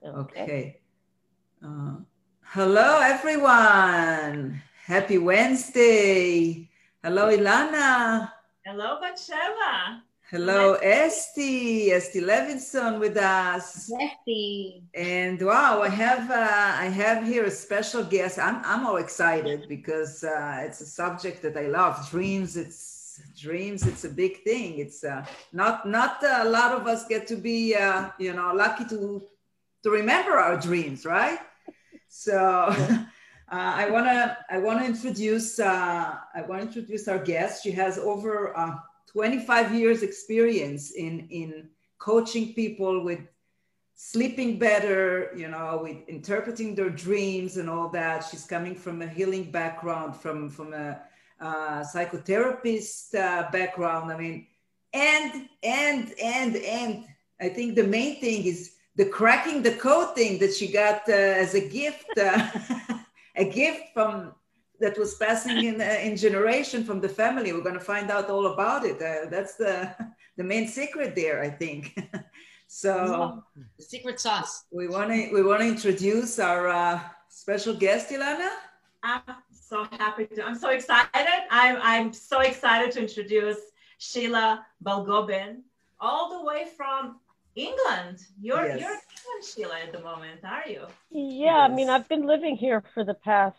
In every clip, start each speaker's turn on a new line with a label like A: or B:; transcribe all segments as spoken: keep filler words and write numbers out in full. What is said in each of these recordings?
A: Okay.
B: Okay. Uh, hello, everyone. Happy Wednesday. Hello, Ilana.
C: Hello, Batsheva. So
B: Hello,
C: nice.
B: Esty. Esty Levinson with us.
A: Esty.
B: And wow, I have uh, I have here a special guest. I'm I'm all excited because uh, it's a subject that I love. Dreams. It's dreams. It's a big thing. It's uh, not not a lot of us get to be uh, you know lucky to to remember our dreams, right? So uh, I wanna I wanna introduce uh, I want to introduce our guest. She has over uh, twenty-five years experience in in coaching people with sleeping better, you know, with interpreting their dreams and all that. She's coming from a healing background, from from a uh, psychotherapist uh, background. I mean, and and and and I think the main thing is the cracking the code thing that she got uh, as a gift, uh, a gift from that was passing in uh, in generation from the family. We're going to find out all about it. Uh, that's the the main secret there, I think. So
A: the secret sauce.
B: we want to we want to introduce our uh, special guest, Ilana.
C: I'm so happy to. I'm so excited. I'm I'm so excited to introduce Sheila Balgobin, all the way from England. You're
B: Yes.
C: you're in England, Sheila, at the moment, are you?
D: Yeah, I mean,
B: Yes.
D: I've been living here for the past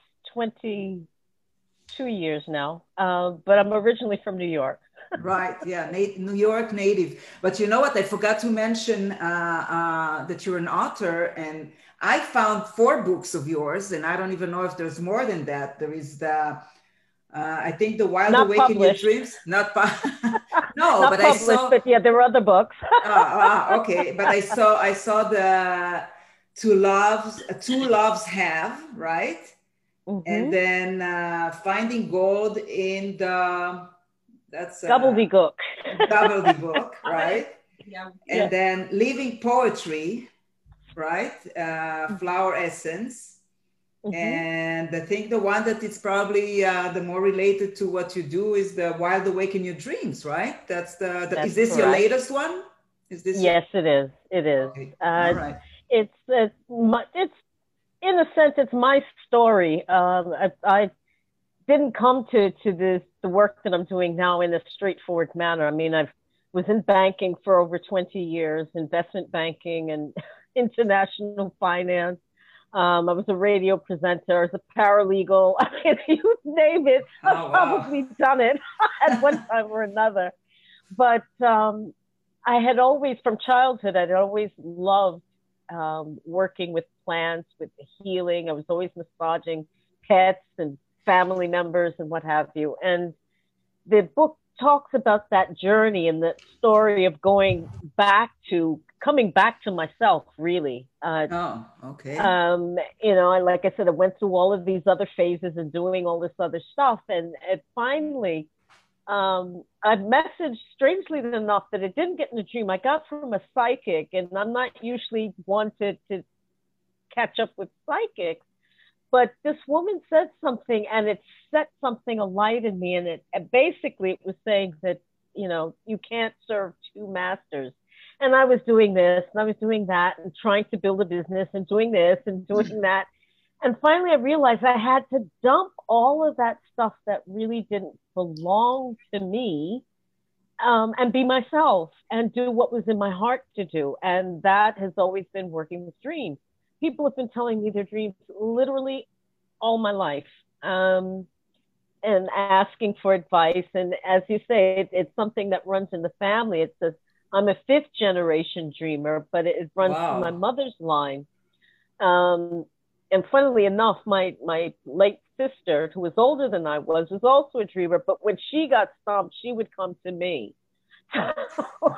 D: twenty-two years now, uh, but I'm originally from New York.
B: Right, yeah, Na- New York native. But you know what? I forgot to mention uh, uh, that you're an author, and I found four books of yours, and I don't even know if there's more than that. There is the, uh, I think, The Wild
D: Not
B: Awake in Your
D: published.
B: Dreams. Not pu- no,
D: Not
B: but I
D: published,
B: saw.
D: but yeah, there were other books.
B: Ah, ah, okay, but I saw I saw the Two Loves, uh, Two Loves Have, right? And
D: hmm
B: then uh, Finding Gold in the that's uh,
D: Gobbledygook.
B: gobbledygook, right?
C: Yeah.
B: And
D: Yeah.
B: then Living Poetry, right? Uh,
D: hmm
B: Flower Essence. And I think the one that is probably uh, the more related to what you do is the Wild Awake in Your Dreams, right? That's the, the is
D: That's
B: this your
D: correct.
B: latest one? Is this your
D: Yes, it is. It is.
B: okay? All
D: Uh,
B: right.
D: it's it's my, it's in a sense it's my story. Um, I, I didn't come to to this the work that I'm doing now in a straightforward manner. I mean, I've was in banking for over twenty years, investment banking and international finance. Um, I was a radio presenter, I was a paralegal. I mean, you name it, I've
B: Oh wow.
D: probably done it at one time or another. But um, I had always, from childhood, I'd always loved um, working with plants, with healing. I was always massaging pets and family members and what have you. And the book talks about that journey and the story of going back to coming back to myself, really. Uh,
B: Oh, okay.
D: um, you know, and like I said, I went through all of these other phases and doing all this other stuff. And it finally, um, I messaged strangely enough that it didn't get in a dream. I got from a psychic, and I'm not usually one to, to catch up with psychics. But this woman said something, and it set something alight in me. And it and basically it was saying that, you know, you can't serve two masters. And I was doing this, and I was doing that, and trying to build a business, and doing this, and doing that. And finally, I realized I had to dump all of that stuff that really didn't belong to me, um, and be myself and do what was in my heart to do. And that has always been working with dreams. People have been telling me their dreams literally all my life, um, and asking for advice. And as you say, it, it's something that runs in the family. It says, I'm a fifth generation dreamer, but it, it runs through my
B: Wow.
D: mother's line. Um, and funnily enough, my, my late sister, who was older than I was, was also a dreamer. But when she got stumped, she would come to me. So,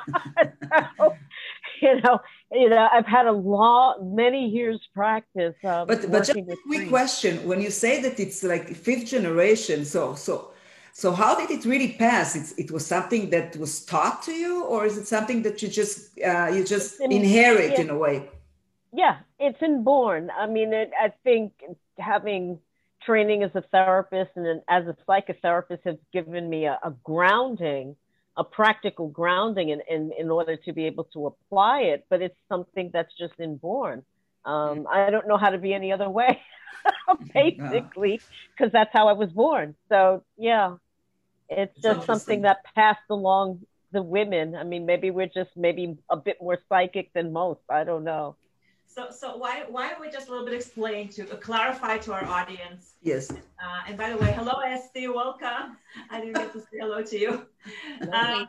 D: you know, you know, I've had a lot, many years practice um,
B: But but just
D: working
B: a
D: with
B: quick
D: dreams.
B: question. When you say that it's like fifth generation, so so so how did it really pass? It's it was something that was taught to you, or is it something that you just uh, you
D: It's
B: just
D: in,
B: inherit
D: it,
B: in a way?
D: yeah, it's inborn. I mean, it, I think having training as a therapist and then as a psychotherapist has given me a, a grounding, a practical grounding in, in, in order to be able to apply it. But it's something that's just inborn. Um, I don't know how to be any other way, basically, because that's how I was born. So yeah, it's
B: It's
D: just something
B: interesting.
D: that passed along the women. I mean, maybe we're just maybe a bit more psychic than most. I don't know.
C: So, so why why don't we just a little bit explain to uh, clarify to our audience?
B: Yes.
C: Uh, and by the way, hello, Esty, welcome. I didn't get to say hello to you. Um,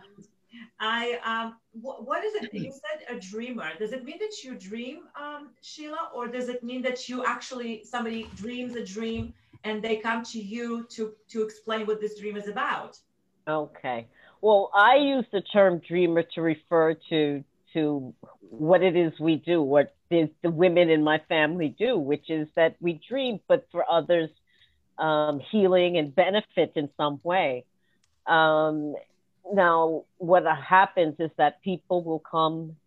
C: I um, wh- what is it? You said a dreamer. Does it mean that you dream, um, Sheila, or does it mean that you actually somebody dreams a dream and they come to you to to explain what this dream is about?
D: Okay. Well, I use the term dreamer to refer to to what it is we do, what the, the women in my family do, which is that we dream, but for others, um, healing and benefit in some way. Um, now, what happens is that people will come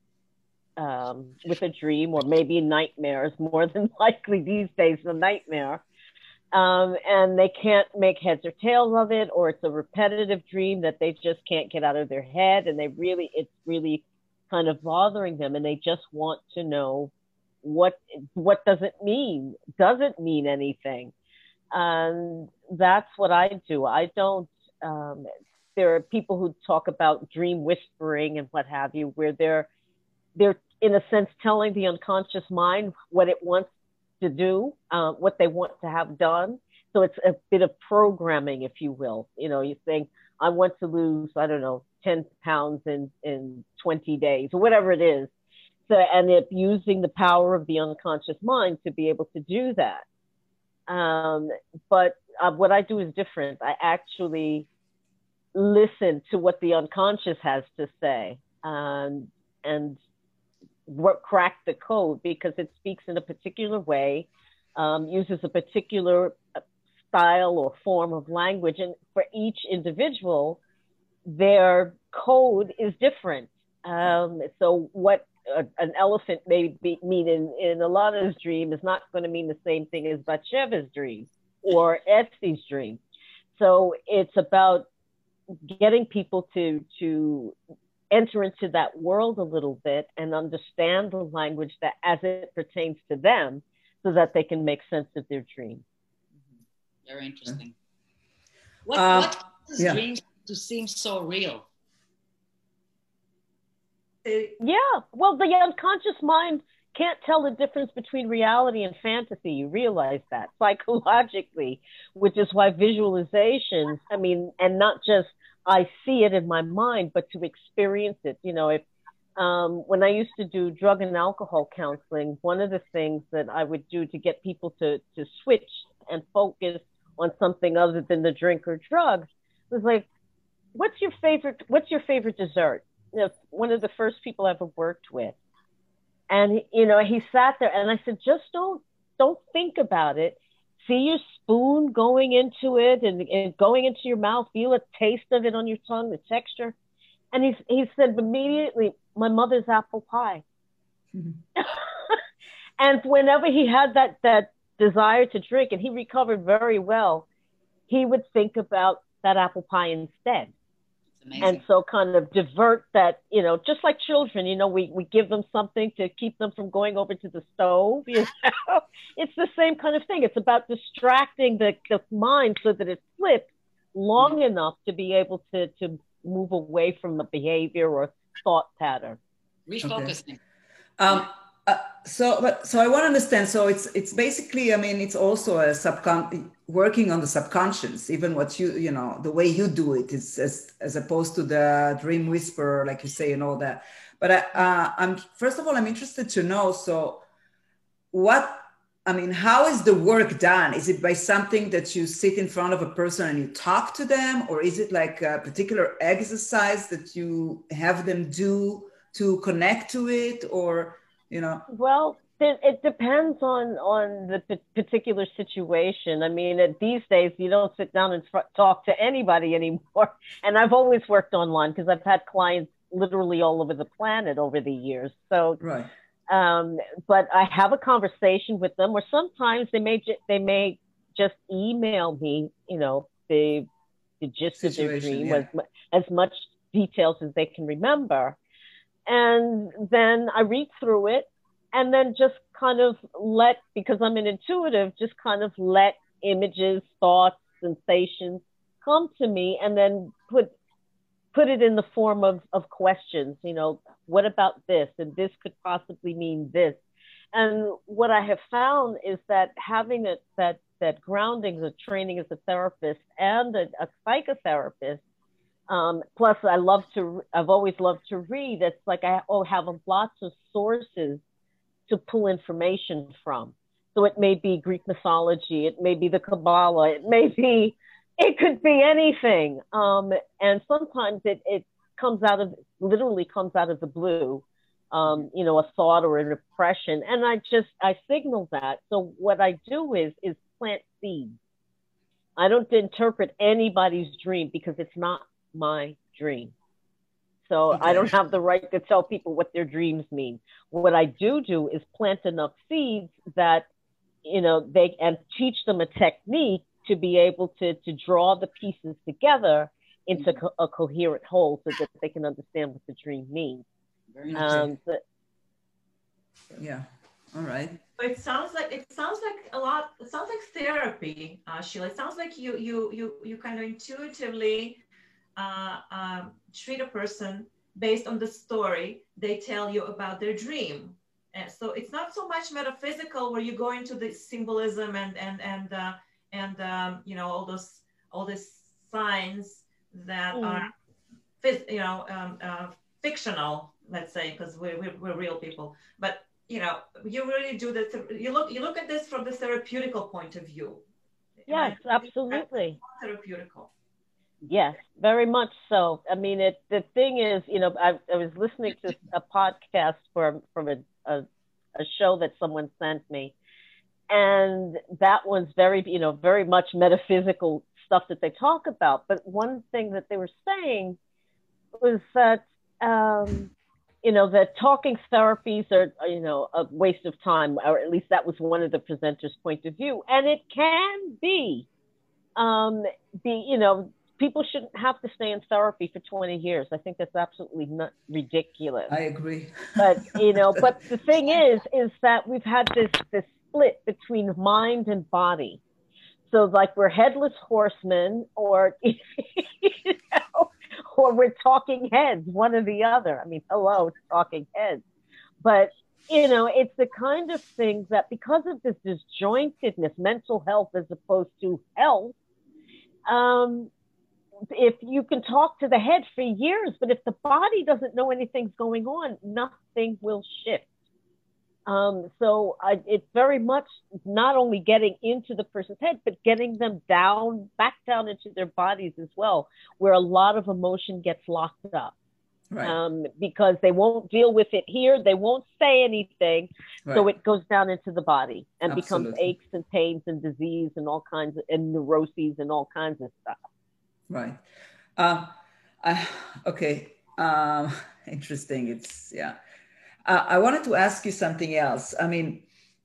D: um, with a dream or maybe nightmares, more than likely these days, a nightmare. Um, and they can't make heads or tails of it, or it's a repetitive dream that they just can't get out of their head. And they really, it's really kind of bothering them. And they just want to know what, what does it mean? Does it mean anything? And that's what I do. I don't, um, there are people who talk about dream whispering and what have you, where they're, they're in a sense telling the unconscious mind what it wants to do, uh, what they want to have done. So it's a bit of programming, if you will. You know, you think, I want to lose, I don't know, ten pounds in, in twenty days or whatever it is. So, and it using the power of the unconscious mind to be able to do that. Um, but uh, what I do is different. I actually listen to what the unconscious has to say, um, and work, crack the code, because it speaks in a particular way, um, uses a particular style or form of language. And for each individual, their code is different. Um, so what a, an elephant may be, mean in, in Alana's dream is not going to mean the same thing as Batsheva's dream or Etsy's dream. So it's about getting people to, to enter into that world a little bit and understand the language that as it pertains to them, so that they can make sense of their dream.
A: Very interesting. What,
B: Uh,
A: what causes
B: yeah.
A: dreams to seem so real?
D: Yeah, well, the unconscious mind can't tell the difference between reality and fantasy. You realize that psychologically, which is why visualizations, I mean, and not just I see it in my mind, but to experience it. You know, if um, when I used to do drug and alcohol counseling, one of the things that I would do to get people to, to switch and focus on something other than the drink or drugs was like, what's your favorite, what's your favorite dessert? You know, one of the first people I ever worked with. And, you know, he sat there and I said, just don't, don't think about it. See your spoon going into it and, and going into your mouth, feel a taste of it on your tongue, the texture. And he, he said immediately, my mother's apple pie. Mm-hmm. And whenever he had that, that desire to drink, and he recovered very well, he would think about that apple pie instead. And so kind of divert that, you know, just like children, you know, we, we give them something to keep them from going over to the stove, you know, it's the same kind of thing. It's about distracting the, the mind so that it flips long mm-hmm. enough to be able to, to move away from a behavior or thought pattern.
A: Refocusing.
B: Okay. Um, uh, so, but, so I want to understand. So it's, it's basically, I mean, it's also a subcon working on the subconscious, even what you, you know, the way you do it is as, as opposed to the dream whisperer, like you say, and all that. But I, uh, I'm, first of all, I'm interested to know, so what, I mean, how is the work done? Is it by something that you sit in front of a person and you talk to them? Or is it like a particular exercise that you have them do to connect to it? Or, you know?
D: Well, it depends on, on the particular situation. I mean, these days, you don't sit down and talk to anybody anymore. And I've always worked online because I've had clients literally all over the planet over the years. So,
B: right.
D: Um, but I have a conversation with them, or sometimes they may ju- they may just email me, you know, the the gist situation, of their dream, yeah. as, as much details as they can remember, and then I read through it, and then just kind of let, because I'm an intuitive, just kind of let images, thoughts, sensations come to me, and then put put it in the form of, of questions, you know, what about this? And this could possibly mean this. And what I have found is that having a, that, that grounding, the training as a therapist and a, a psychotherapist, um, plus I love to, I've always loved to read. It's like I oh, have lots of sources to pull information from. So it may be Greek mythology, it may be the Kabbalah, it may be, it could be anything. Um, and sometimes it, it comes out of, literally comes out of the blue, um, you know, a thought or an impression. And I just, I signal that. So what I do is, is plant seeds. I don't interpret anybody's dream because it's not my dream. So okay. I don't have the right to tell people what their dreams mean. What I do do is plant enough seeds that, you know, they, and teach them a technique to be able to, to draw the pieces together into co a coherent whole so that they can understand what the dream means.
A: Very nice.
D: Um, but,
B: yeah, all right.
C: So it sounds like, it sounds like a lot, it sounds like therapy, uh, Sheila. It sounds like you, you, you, you kind of intuitively uh, um, treat a person based on the story they tell you about their dream. And so it's not so much metaphysical where you go into the symbolism and, and, and, uh, and um, you know, all those all these signs that mm. are, you know, um, uh, fictional, let's say, because we're, we're we're real people. But you know, you really do this. You look you look at this from the therapeutical point of view.
D: Yes, absolutely.
C: Therapeutical.
D: Yes, very much so. I mean, it. The thing is, you know, I, I was listening to a podcast from from a, a a show that someone sent me. And that was very, you know, very much metaphysical stuff that they talk about. But one thing that they were saying was that, um, you know, that talking therapies are, you know, a waste of time, or at least that was one of the presenters' point of view. And it can be, um, be, you know, people shouldn't have to stay in therapy for twenty years. I think that's absolutely not ridiculous.
B: I agree.
D: But, you know, but the thing is, is that we've had this, this split between mind and body. So like we're headless horsemen, or, you know, or we're talking heads, one or the other. I mean, hello, talking heads. But, you know, it's the kind of thing that because of this disjointedness, mental health as opposed to health, um, if you can talk to the head for years, but if the body doesn't know anything's going on, nothing will shift. Um, so I, it's very much not only getting into the person's head, but getting them down, back down into their bodies as well, where a lot of emotion gets locked up. Right. Um, because they won't deal with it here. They won't say anything. Right. So it goes down into the body and Absolutely. becomes aches and pains and disease and all kinds of, and neuroses and all kinds of stuff.
B: Right. Uh, I, okay. Um, interesting. It's, yeah. Uh, I wanted to ask you something else. I mean,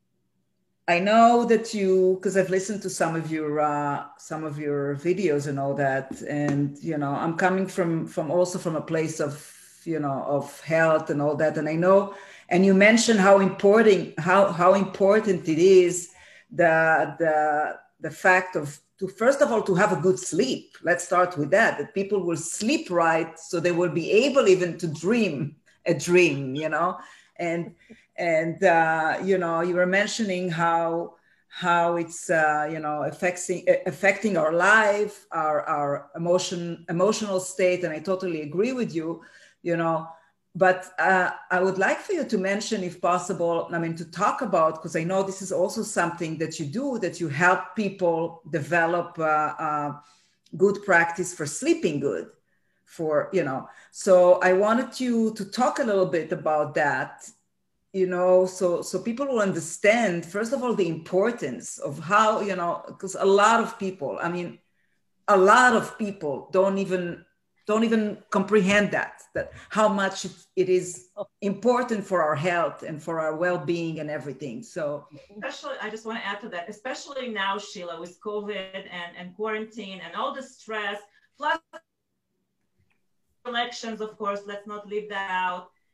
B: I know that you, because I've listened to some of your uh, some of your videos and all that, and you know, I'm coming from from also from a place of you know of health and all that, and I know, and you mentioned how important how how important it is the the the fact of to first of all to have a good sleep. Let's start with that. That people will sleep right, so they will be able even to dream a dream, you know, and and uh, you know, you were mentioning how how it's uh, you know affecting affecting our life, our our emotion emotional state, and I totally agree with you, you know. But uh, I would like for you to mention, if possible, I mean, to talk about, because I know this is also something that you do, that you help people develop uh, uh, good practice for sleeping good. For, you know, so I wanted you to talk a little bit about that, you know, so, so people will understand, first of all, the importance of how, you know, because a lot of people, I mean, a lot of people don't even, don't even comprehend that, that how much it is important for our health and for our well-being and everything. So
C: especially, I just want to add to that, especially now, Sheila, with COVID and, and quarantine and all the stress, plus elections, of course, let's not leave that out.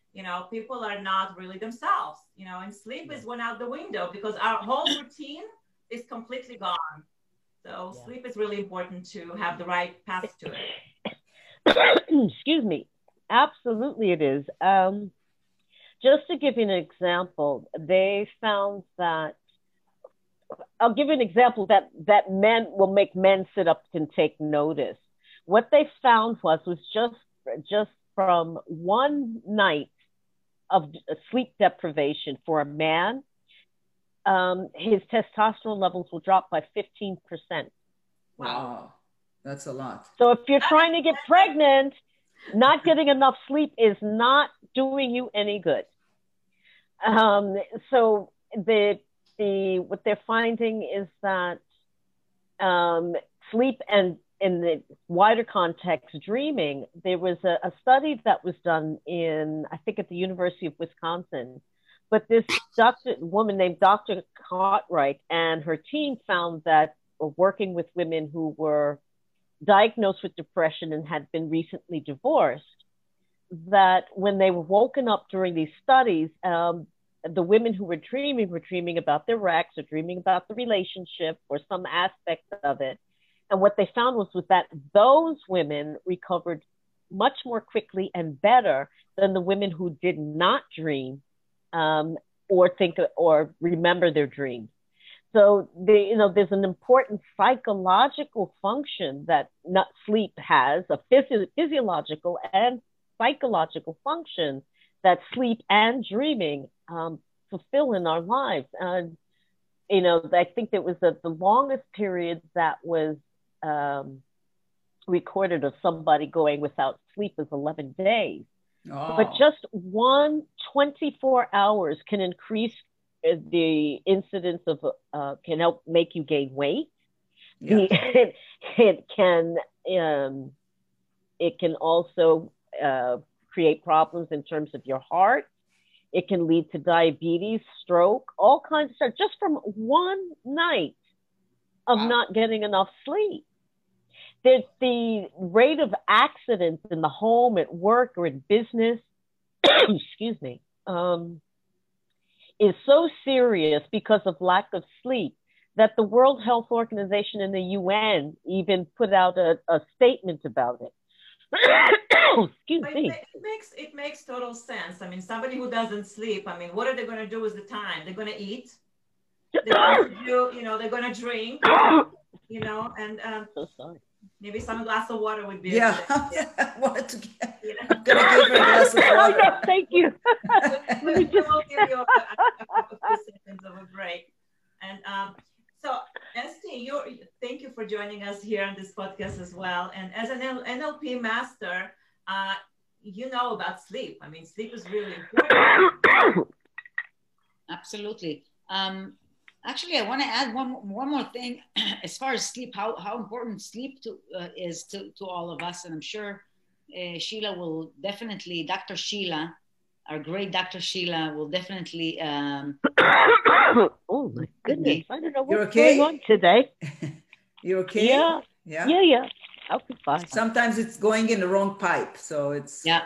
C: you know, people are not really themselves, you know, and sleep is went out the window because our whole routine is completely gone. So yeah. Sleep is really important to have the right path to it.
D: Excuse me. Absolutely it is. Um, just to give you an example, they found that, I'll give you an example that, that men will make men sit up and take notice. What they found was, was just, just from one night of sleep deprivation for a man, um, his testosterone levels will drop by fifteen percent.
B: Wow, that's a lot.
D: So if you're trying to get pregnant, not getting enough sleep is not doing you any good. Um, so the, the, what they're finding is that um, sleep and in the wider context, dreaming, there was a, a study that was done in, I think at the University of Wisconsin, but this doctor, woman named Doctor Cartwright and her team found that working with women who were diagnosed with depression and had been recently divorced, that when they were woken up during these studies, um, the women who were dreaming were dreaming about their ex or dreaming about the relationship or some aspect of it. And what they found was, was that those women recovered much more quickly and better than the women who did not dream um, or think or remember their dreams. So they, you know, there's an important psychological function that not sleep has, a physio- physiological and psychological function that sleep and dreaming um, fulfill in our lives. And, you know, I think it was the, the longest period that was um, recorded of somebody going without sleep was eleven days. Oh. But just one twenty-four hours can increase the incidence of, uh, can help make you gain weight. Yeah. It, it can, um, it can also uh, create problems in terms of your heart. It can lead to diabetes, stroke, all kinds of stuff, just from one night of wow. not getting enough sleep. The, the rate of accidents in the home, at work, or in business, excuse me, um, is so serious because of lack of sleep that the World Health Organization and the U N even put out a, a statement about it. Excuse
C: but
D: me.
C: It, it makes it makes total sense. I mean, somebody who doesn't sleep, I mean, what are they going to do with the time? They're going to eat. They're going to do, you know, they're going to drink, you know, and um,
D: so sorry.
C: Maybe some glass of water would be.
B: Yeah,
C: I
B: wanted to get. You know? I'm gonna give her a glass of water.
D: Oh, yes, thank you.
C: we, we will give you a, a, a few seconds of a break. And um, so, Esty, you thank you for joining us here on this podcast as well. And as an N L P master, uh, you know about sleep. I mean, sleep is really important.
A: Absolutely. Um, Actually, I want to add one one more thing as far as sleep. How how important sleep to uh, is to, to all of us, and I'm sure uh, Sheila will definitely. Doctor Sheila, our great Doctor Sheila, will definitely. Um,
D: oh my goodness! I don't know what's
B: You're okay?
D: going on today.
B: You're okay?
D: Yeah.
B: Yeah.
D: Yeah. Yeah. I'll be fine.
B: Sometimes it's going in the wrong pipe, so it's.
A: Yeah.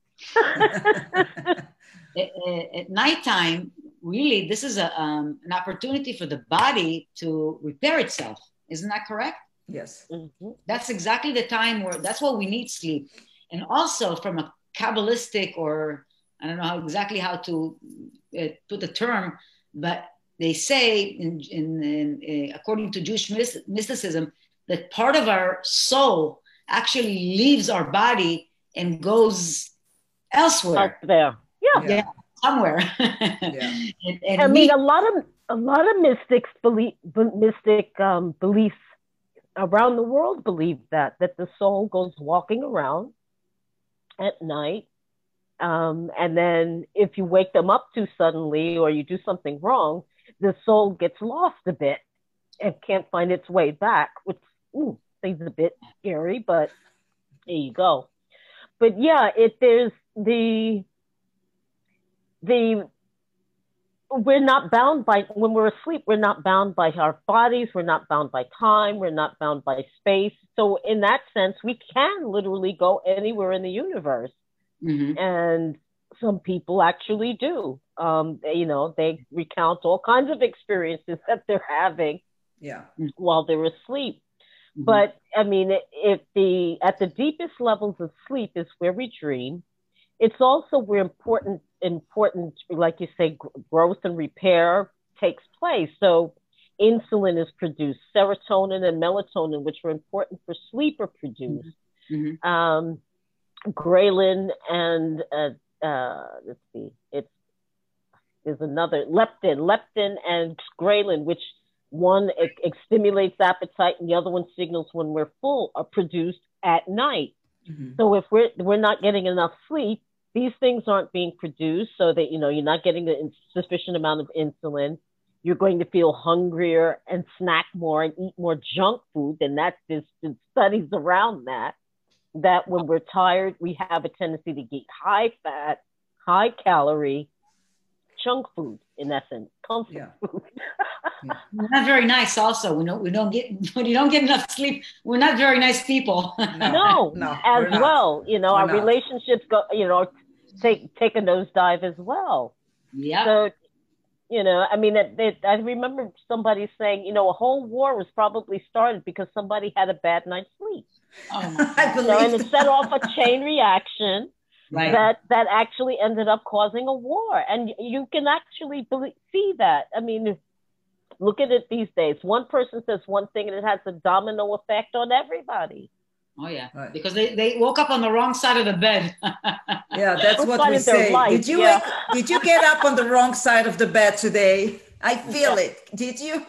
A: at, at nighttime. Really, this is a, um, an opportunity for the body to repair itself. Isn't that correct?
B: Yes.
D: Mm-hmm.
A: That's exactly the time where, that's what we need sleep. And also from a Kabbalistic, or I don't know how, exactly how to uh, put the term, but they say, in, in, in, uh, according to Jewish mysticism, that part of our soul actually leaves our body and goes elsewhere.
D: Out there. Yeah.
A: Yeah. yeah. Somewhere.
B: Yeah.
A: and, and
D: I mean,
A: me-
D: a lot of a lot of mystics believe mystic um, beliefs around the world believe that that the soul goes walking around at night, um, and then if you wake them up too suddenly or you do something wrong, the soul gets lost a bit and can't find its way back, which ooh, seems a bit scary, but there you go. But yeah, it there's the The we're not bound by, when we're asleep, we're not bound by our bodies, we're not bound by time, we're not bound by space. So in that sense, we can literally go anywhere in the universe.
A: Mm-hmm.
D: And some people actually do. Um, they, you know, they recount all kinds of experiences that they're having
B: Yeah.
D: while they're asleep.
A: Mhm.
D: But I mean, if the at the deepest levels of sleep is where we dream, it's also where important important, like you say, gr- growth and repair takes place. So insulin is produced, serotonin and melatonin, which are important for sleep, are produced.
A: Mhm.
D: Um, ghrelin and uh, uh, let's see, it's there's another leptin, leptin and ghrelin, which one it, it stimulates appetite and the other one signals when we're full, are produced at night.
B: Mhm.
D: So if we're we're not getting enough sleep, these things aren't being produced, so that you know you're not getting the sufficient amount of insulin. You're going to feel hungrier and snack more and eat more junk food. And that's there's been studies around that. That when we're tired, we have a tendency to eat high fat, high calorie junk food. In essence, comfort
B: Yeah.
D: food.
A: We're not very nice. Also, we don't we don't get when you don't get enough sleep. We're not very nice people.
D: No,
B: No,
D: as
B: we're not.
D: well. You know,
B: We're
D: our
B: not.
D: relationships go. You know, take take a nosedive as well.
A: Yeah.
D: So, you know, I mean, it, it, I remember somebody saying, you know, a whole war was probably started because somebody had a bad night's sleep.
A: Oh my
B: I
A: God.
D: You know, and
B: believe
D: it set off a chain reaction
A: Right.
D: that that actually ended up causing a war. And you can actually believe, see that. I mean, look at it these days. One person says one thing and it has a domino effect on everybody.
A: Oh yeah.
B: Right.
A: Because they, they woke up on the wrong side of the bed.
B: Yeah, that's
D: First
B: what
D: side
B: we
D: of their
B: say.
D: life,
B: Did you
D: yeah.
B: wake, did you get up on the wrong side of the bed today? I feel it. Did you?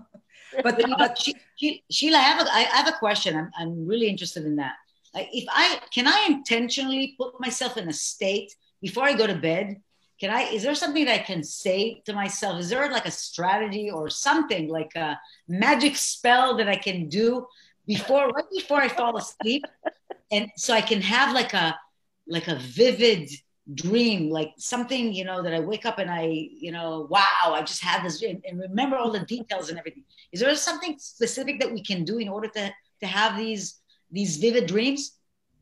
B: But
A: But you know,
B: but
A: She- She- Sheila, I have a, I have a question. I'm, I'm really interested in that. Like, if I can I intentionally put myself in a state before I go to bed? Can I? Is there something that I can say to myself? Is there like a strategy or something like a magic spell that I can do before, right before I fall asleep, and so I can have like a like a vivid dream, like something, you know, that I wake up and I, you know, wow, I just had this dream and remember all the details and everything. Is there something specific that we can do in order to to have these these vivid dreams?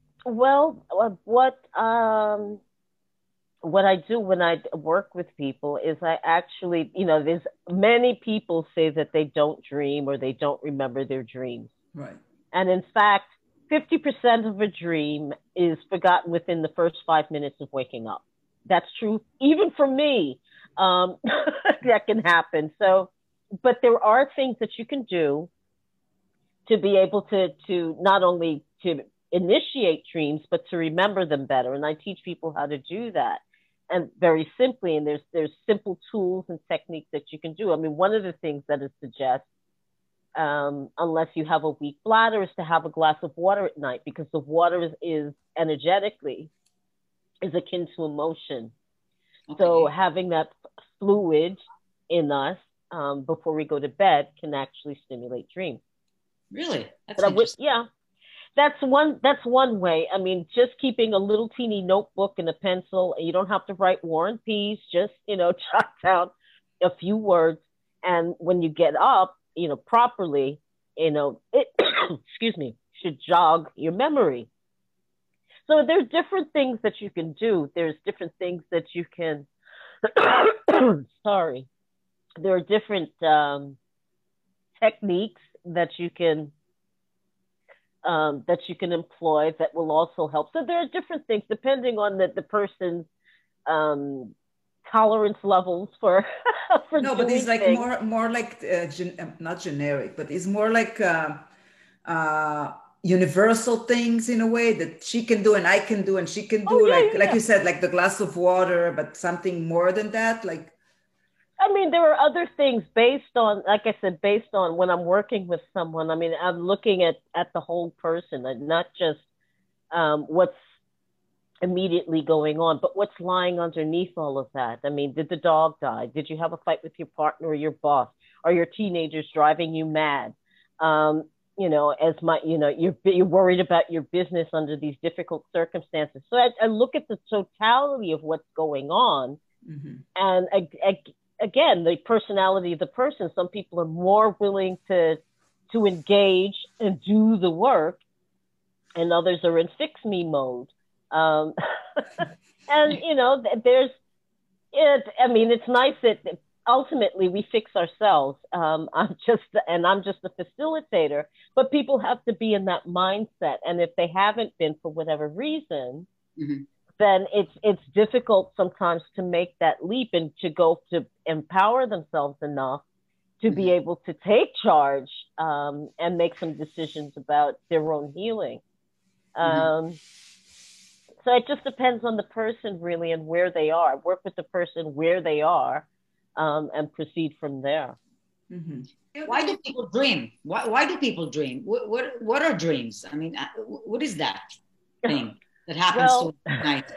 D: Well, uh, what um, what I do when I work with people is I actually, you know, there's many people say that they don't dream or they don't remember their dreams.
B: right.
D: And in fact, fifty percent of a dream is forgotten within the first five minutes of waking up. That's true, even for me. Um, that can happen. So, but there are things that you can do to be able to, to not only to initiate dreams, but to remember them better. And I teach people how to do that. And very simply, and there's there's simple tools and techniques that you can do. I mean, one of the things that it suggests, um, unless you have a weak bladder, is to have a glass of water at night, because the water is, is energetically is akin to emotion.
A: Okay.
D: So having that fluid in us um, before we go to bed can actually stimulate dreams.
A: Really, that's
D: But I would,
A: interesting.
D: yeah, that's one. That's one way. I mean, just keeping a little teeny notebook and a pencil, and you don't have to write War and Peace. Just you know, jot down a few words, and when you get up, you know, properly, you know, it excuse me, should jog your memory. So there's different things that you can do. There's different things that you can. sorry, there are different um, techniques that you can. Um, that you can employ that will also help. So there are different things depending on the, the person's um, tolerance levels for for
B: No, but
D: doing
B: it's like
D: things.
B: more more like uh, gen, uh, not generic, but it's more like uh, uh, universal things in a way that she can do and I can do and she can do.
D: Oh, yeah,
B: like
D: yeah,
B: like
D: yeah.
B: you said, like the glass of water, but something more than that. Like
D: I mean, there are other things based on, like I said, based on when I'm working with someone. I mean, I'm looking at, at the whole person and not just um, what's immediately going on, but what's lying underneath all of that. I mean, did the dog die? Did you have a fight with your partner or your boss? Are your teenagers driving you mad? Um, you know, as my, you know, you're, you're worried about your business under these difficult circumstances. So I, I look at the totality of what's going on.
B: mm-hmm.
D: And I, I, again, the personality of the person. Some people are more willing to to engage and do the work, and others are in fix me mode. Um, And, you know, there's, it, I mean, it's nice that ultimately we fix ourselves. Um, I'm just, and I'm just a facilitator, but people have to be in that mindset. And if they haven't been for whatever reason, mm-hmm. then it's, it's difficult sometimes to make that leap and to go to empower themselves enough to mm-hmm. be able to take charge um, and make some decisions about their own healing. Mm-hmm. Um, so it just depends on the person really and where they are. Work with the person where they are um, and proceed from there.
A: Mm-hmm. Why do people dream? Why, why do people dream? What, what, what are dreams? I mean, what is that thing that happens
D: well,
A: to at night?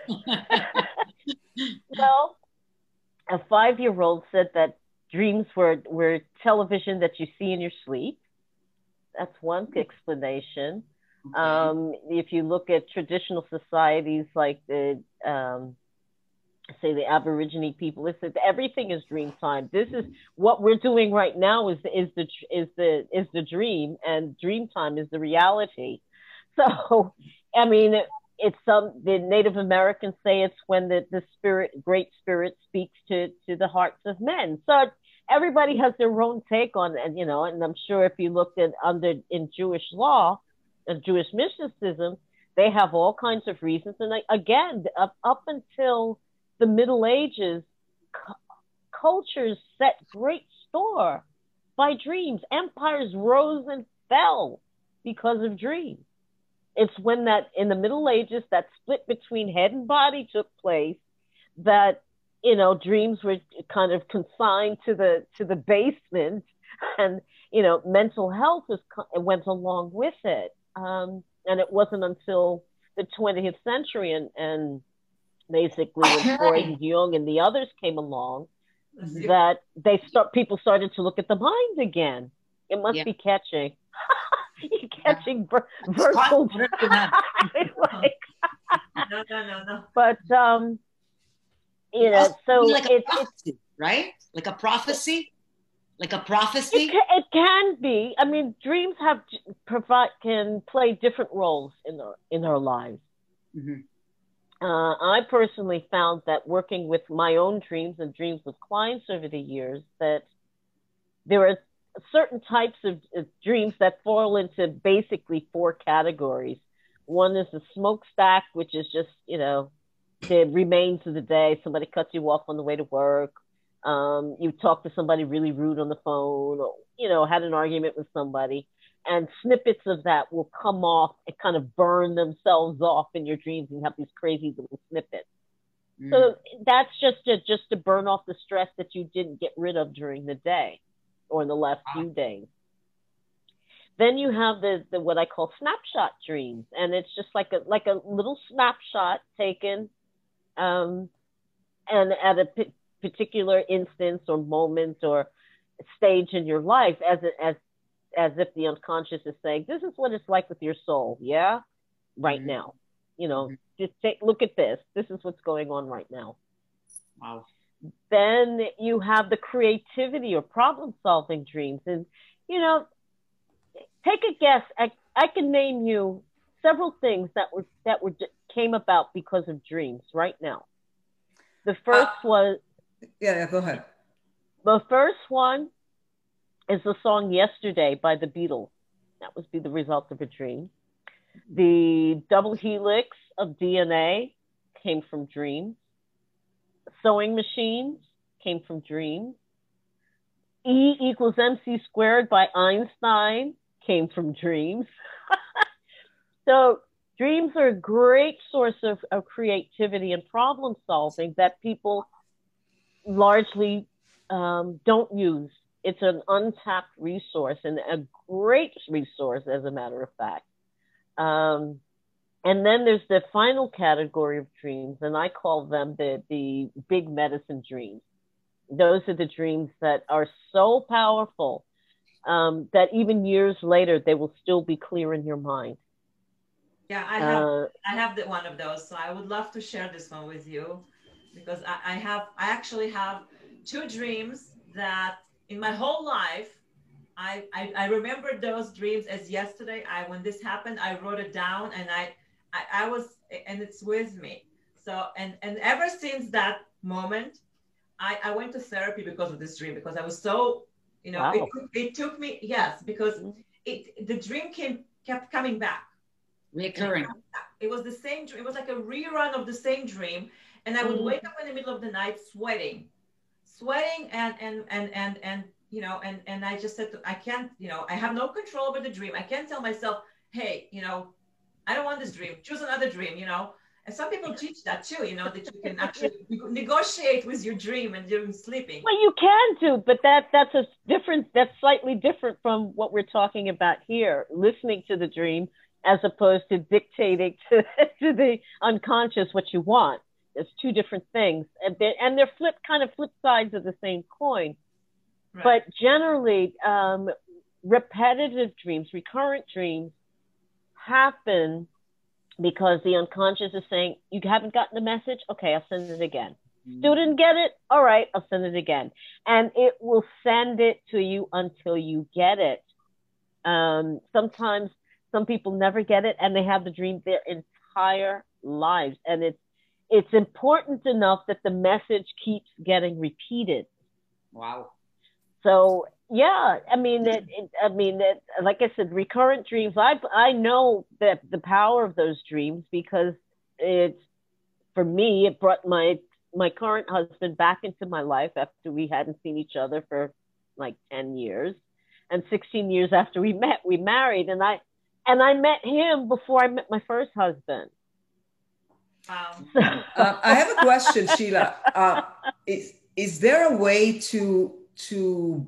D: Well, a five-year-old said that dreams were, were television that you see in your sleep. That's one explanation. Okay. Um, if you look at traditional societies like the, um, say the Aborigine people, it's that everything is dream time. This is what we're doing right now is is the is the is the dream, and dream time is the reality. So, I mean, it, it's some the Native Americans say it's when the the spirit, great spirit, speaks to to the hearts of men. So everybody has their own take on, and you know, and I'm sure if you looked at under in Jewish law. Of Jewish mysticism, they have all kinds of reasons. And again, up, up until the Middle Ages, cu- cultures set great store by dreams. Empires rose and fell because of dreams. It's when that, in the Middle Ages, that split between head and body took place that, you know, dreams were kind of consigned to the, to the basement, and, you know, mental health was, went along with it. Um, and it wasn't until the twentieth century and, and basically when Freud and Jung and the others came along that they start people started to look at the mind again. It must yeah. be catching. You're catching yeah. ver- virtual. like,
C: no, no, no, no.
D: But um, you know, so
A: like
D: it's,
A: it's right, like a prophecy. Like a prophecy?
D: It can, it can be. I mean, dreams have provide can play different roles in our in our lives. Mm-hmm. Uh, I personally found that working with my own dreams and dreams with clients over the years, that there are certain types of, of dreams that fall into basically four categories. One is the smokestack, which is just, you know, the remains of the day. Somebody cuts you off on the way to work. Um, you talk to somebody really rude on the phone, or, you know, had an argument with somebody, and snippets of that will come off and kind of burn themselves off in your dreams, and you have these crazy little snippets. Mm. So that's just to, just to burn off the stress that you didn't get rid of during the day or in the last few days. Then you have the, the what I call snapshot dreams, and it's just like a like a little snapshot taken, um, and at a p- particular instance or moment or stage in your life, as a, as as if the unconscious is saying, "This is what it's like with your soul, yeah, right mm-hmm. now. You know, mm-hmm. just take look at this. This is what's going on right now."
A: Wow.
D: Then you have the creativity or problem-solving dreams, and you know. Take a guess. I, I can name you several things that were that were came about because of dreams right now. The first uh, was
B: yeah, yeah, go ahead.
D: The first one is the song "Yesterday" by the Beatles. That was be the result of a dream. The double helix of D N A came from dreams. Sewing machines came from dreams. E equals mc squared by Einstein came from dreams. So dreams are a great source of, of creativity and problem solving that people largely um, don't use. It's an untapped resource and a great resource, as a matter of fact. Um, and then there's the final category of dreams, and I call them the, the big medicine dreams. Those are the dreams that are so powerful Um, that even years later, they will still be clear in your mind.
C: Yeah, I have uh, I have the, one of those, so I would love to share this one with you, because I, I have I actually have two dreams that in my whole life, I, I I remember those dreams as yesterday. I when this happened, I wrote it down, and I I, I was and it's with me. so, and, and ever since that moment, I, I went to therapy because of this dream, because I was so, you know,
D: Wow.
C: it, it took me, yes, because it, the dream came, kept coming back.
A: Recurring.
C: It was the same dream. It was like a rerun of the same dream. And I would
D: Mhm.
C: wake up in the middle of the night sweating, sweating and, and, and, and, and, you know, and, and I just said, to, I can't, you know, I have no control over the dream. I can't tell myself, hey, you know, I don't want this dream. Choose another dream, you know. And some people teach that too, you know, that you can actually negotiate with your dream and during sleeping.
D: Well, you can do, but that that's a different. That's slightly different from what we're talking about here. Listening to the dream as opposed to dictating to to the unconscious what you want. There's two different things, and they and they're flip kind of flip sides of the same coin.
C: Right.
D: But generally, um, repetitive dreams, recurrent dreams, happen because the unconscious is saying, you haven't gotten the message? Okay, I'll send it again. Still didn't get it? All right, I'll send it again. And it will send it to you until you get it. Um, sometimes some people never get it and they have the dream their entire lives. And it's, it's important enough that the message keeps getting repeated.
A: Wow.
D: So yeah, I mean, it, it, I mean, it, like I said, recurrent dreams. I I know that the power of those dreams because it's, for me, it brought my my current husband back into my life after we hadn't seen each other for like ten years, and sixteen years after we met, we married, and I and I met him before I met my first husband.
C: Wow.
B: Uh, I have a question, Sheila. Uh, is is there a way to to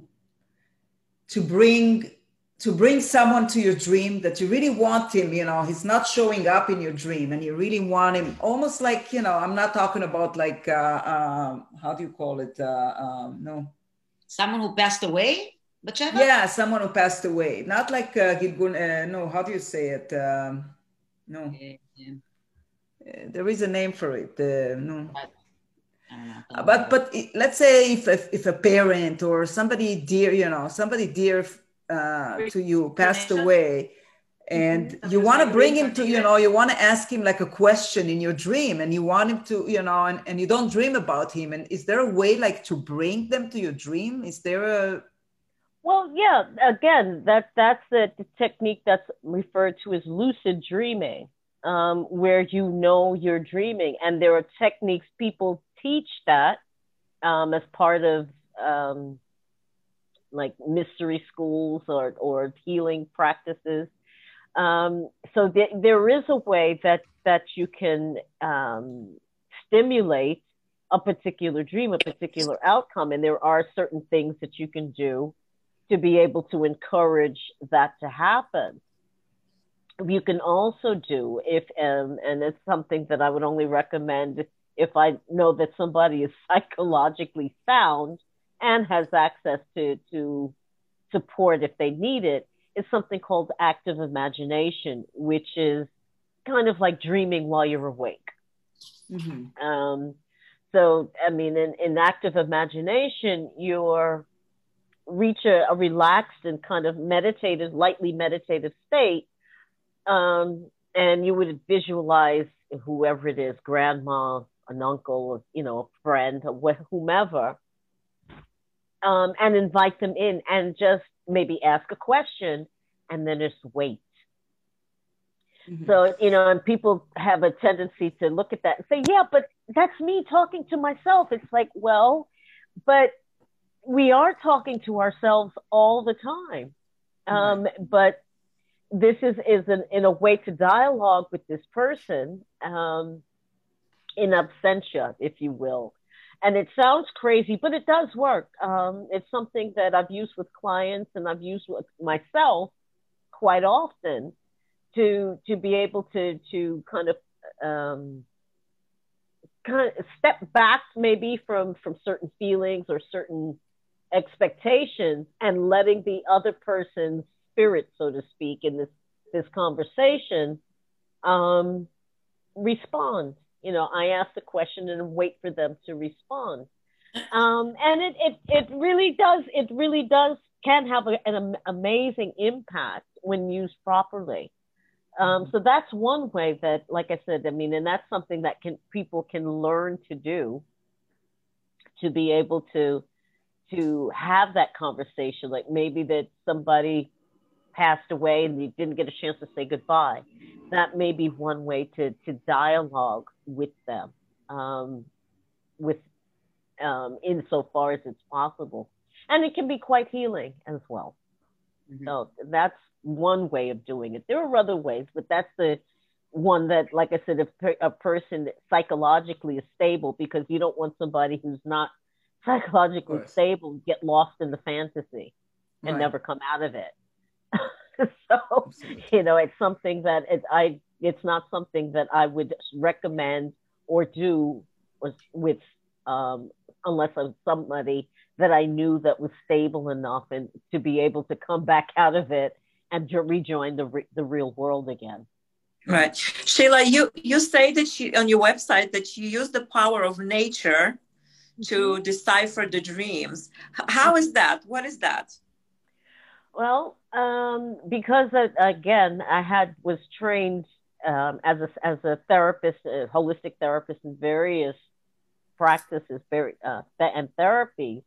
B: to bring to bring someone to your dream that you really want him, you know, he's not showing up in your dream and you really want him, almost like, you know, I'm not talking about like, uh, um, how do you call it? Uh, um, no.
A: Someone who passed away? Batsheva?
B: Yeah, someone who passed away. Not like, uh, Gilgun, uh, no, how do you say it? Um, no.
A: Yeah, yeah.
B: Uh, there is a name for it. Uh, no.
A: But, I don't know.
B: Uh, but but it- let's say if, if if a parent or somebody dear, you know, somebody dear uh, to you passed
C: Reincarnation?
B: away, and
C: Mhm.
B: you want to
C: Like
B: bring him to, you
C: reincarnated?
B: know, you want to ask him like a question in your dream, and you want him to, you know, and, and you don't dream about him. And is there a way like to bring them to your dream? Is there a
D: Well, yeah, again, that that's the, the technique that's referred to as lucid dreaming, um, where you know you're dreaming. And there are techniques, people teach that um, as part of um, like mystery schools or, or healing practices. Um, so th- there is a way that, that you can um, stimulate a particular dream, a particular outcome. And there are certain things that you can do to be able to encourage that to happen. You can also do, if um, and it's something that I would only recommend if I know that somebody is psychologically sound and has access to, to support if they need it, is something called active imagination, which is kind of like dreaming while you're awake.
B: mm-hmm.
D: Um, so, I mean, in, in active imagination, you're reach a, a relaxed and kind of meditative, lightly meditative state. Um, and you would visualize whoever it is, grandma, an uncle, you know, a friend, or whomever, um, and invite them in and just maybe ask a question and then just wait. Mm-hmm. So, you know, and people have a tendency to look at that and say, yeah, but that's me talking to myself. It's like, well, but we are talking to ourselves all the time. Um, right. But this is, is an, in a way to dialogue with this person um, in absentia, if you will. And it sounds crazy, but it does work. Um, it's something that I've used with clients and I've used with myself quite often to, to be able to, to kind of, um, kind of step back maybe from, from certain feelings or certain expectations and letting the other person's spirit, so to speak, in this, this conversation, um, respond. You know, I ask the question and wait for them to respond. Um, and it, it, it really does, it really does, can have a, an amazing impact when used properly. Um, so that's one way that, like I said, I mean, and that's something that can people can learn to do, to be able to to have that conversation. Like maybe that somebody passed away and you didn't get a chance to say goodbye. That may be one way to to dialogue with them, um, with um, insofar as it's possible, and it can be quite healing as well. Mm-hmm. So that's one way of doing it. There are other ways, but that's the one that, like I said, if a person psychologically is stable, because you don't want somebody who's not psychologically stable get lost in the fantasy and right. never come out of it. So, Absolutely. you know, it's something that it, I, it's not something that I would recommend or do with, um, unless I'm somebody that I knew that was stable enough and to be able to come back out of it and to rejoin the re- the real world again.
E: Right. Sheila, you, you say that you, on your website that you use the power of nature to mm-hmm. decipher the dreams. How is that? What is that?
D: Well, um, because, uh, again, I had was trained um, as, a, as a therapist, a holistic therapist in various practices very, uh, and therapies.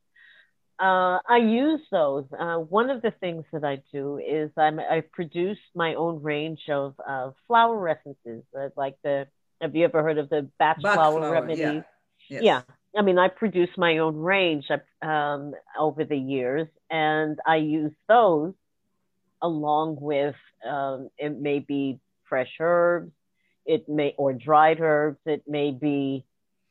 D: Uh, I use those. Uh, one of the things that I do is I'm, I produce my own range of uh, flower essences. Uh, like the, have you ever heard of the Bach, Bach flower, flower remedy?
B: Yeah. Yes.
D: yeah. I mean, I produce my own range um, over the years, and I use those along with, um, it may be fresh herbs, it may, or dried herbs, it may be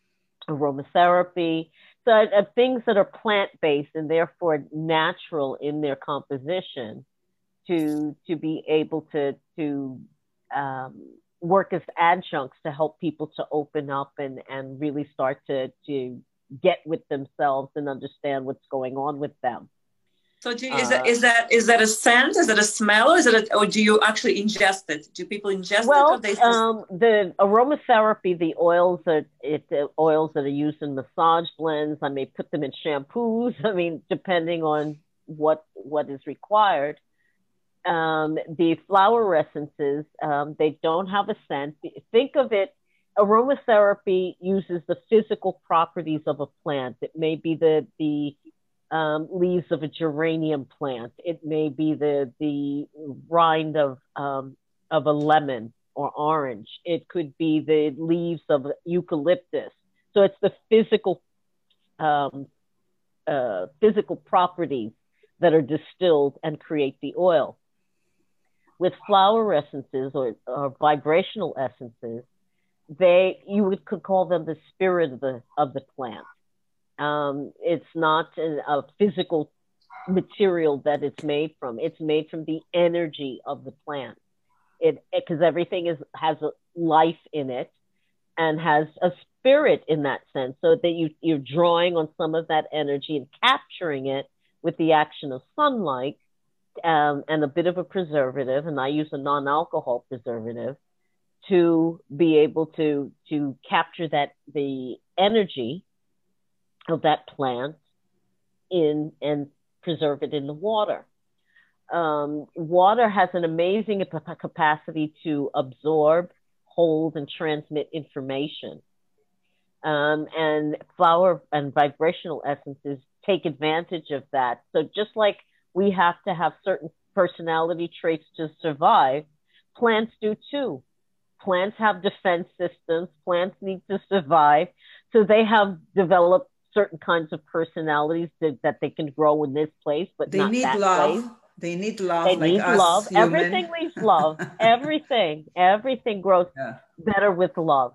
D: aromatherapy. So uh, things that are plant-based and therefore natural in their composition to to be able to to um, work as adjuncts to help people to open up and, and really start to, to get with themselves and understand what's going on with them.
E: So do you, is, uh, that, is, that, is that a scent? Is it a smell? Or, is it a, or do you actually ingest it? Do people ingest
D: well,
E: it? Or they
D: um, the aromatherapy, the oils that it, the oils that are used in massage blends, I may put them in shampoos. I mean, depending on what what is required. Um, the flower essences, um, they don't have a scent. Think of it, aromatherapy uses the physical properties of a plant. It may be the the um, leaves of a geranium plant. It may be the the rind of um, of a lemon or orange. It could be the leaves of eucalyptus. So it's the physical um, uh, physical properties that are distilled and create the oil. With flower essences or, or vibrational essences, they you would could call them the spirit of the of the plant. Um, it's not a, a physical material that it's made from. It's made from the energy of the plant. It because everything is has a life in it and has a spirit in that sense. So that you you're drawing on some of that energy and capturing it with the action of sunlight. Um, and a bit of a preservative, and I use a non-alcohol preservative to be able to to capture that the energy of that plant in and preserve it in the water. Um, water has an amazing capacity to absorb, hold, and transmit information. Um, and flower and vibrational essences take advantage of that. So just like we have to have certain personality traits to survive, plants do too. Plants have defense systems. Plants need to survive. So they have developed certain kinds of personalities that, that they can grow in this place, but
B: they
D: not
B: need
D: that
B: love.
D: place.
B: They need love.
D: They
B: like
D: need
B: us
D: love.
B: human.
D: Everything needs love. Everything. Everything grows
B: yeah.
D: better with love.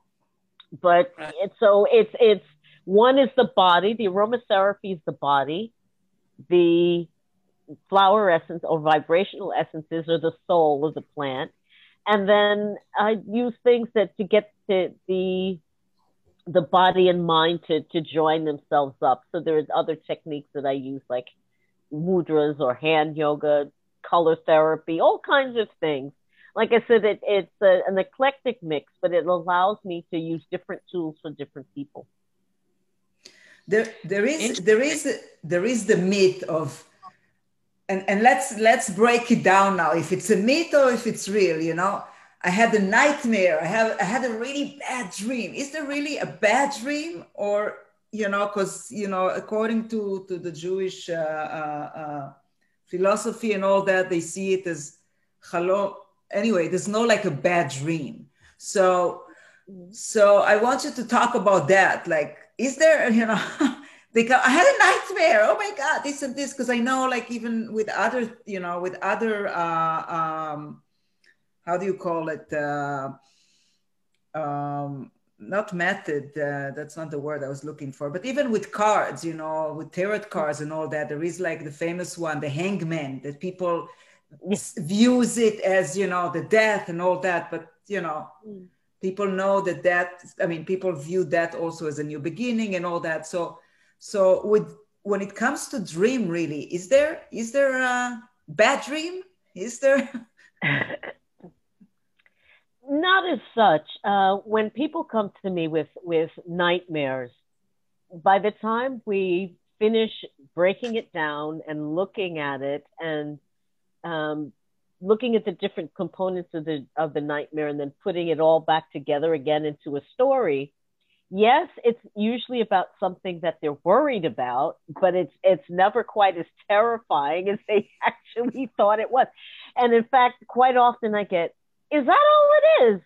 D: But it's, so it's, it's, one is the body. The aromatherapy is the body. The flower essence or vibrational essences are the soul of the plant. And then I use things that to get the, the, the body and mind to, to join themselves up. So there's other techniques that I use like mudras or hand yoga, color therapy, all kinds of things. Like I said, it, it's a, an eclectic mix, but it allows me to use different tools for different people.
B: There, there is, there is, there is the myth of and, and let's let's break it down now. If it's a myth or if it's real, you know. I had a nightmare. I have I had a really bad dream. Is there really a bad dream, or you know, because you know, according to to the Jewish uh, uh, uh, philosophy and all that, they see it as chalom. Anyway, there's no like a bad dream. So so I want you to talk about that. Like, is there, you know? They go, I had a nightmare. Oh my God, this and this. Because I know, like, even with other, you know, with other, uh, um, how do you call it? Uh, um, not method. Uh, that's not the word I was looking for. But even with cards, you know, with tarot cards and all that, there is like the famous one, the hangman, that people views it as, you know, the death and all that. But, you know, mm. people know that that, I mean, people view that also as a new beginning and all that. So, So with when it comes to dream, really, is there is there a bad dream? Is there?
D: Not as such. Uh, when people come to me with with nightmares, by the time we finish breaking it down and looking at it and um, looking at the different components of the of the nightmare and then putting it all back together again into a story. Yes, it's usually about something that they're worried about, but it's it's never quite as terrifying as they actually thought it was. And in fact, quite often I get, is that all it is?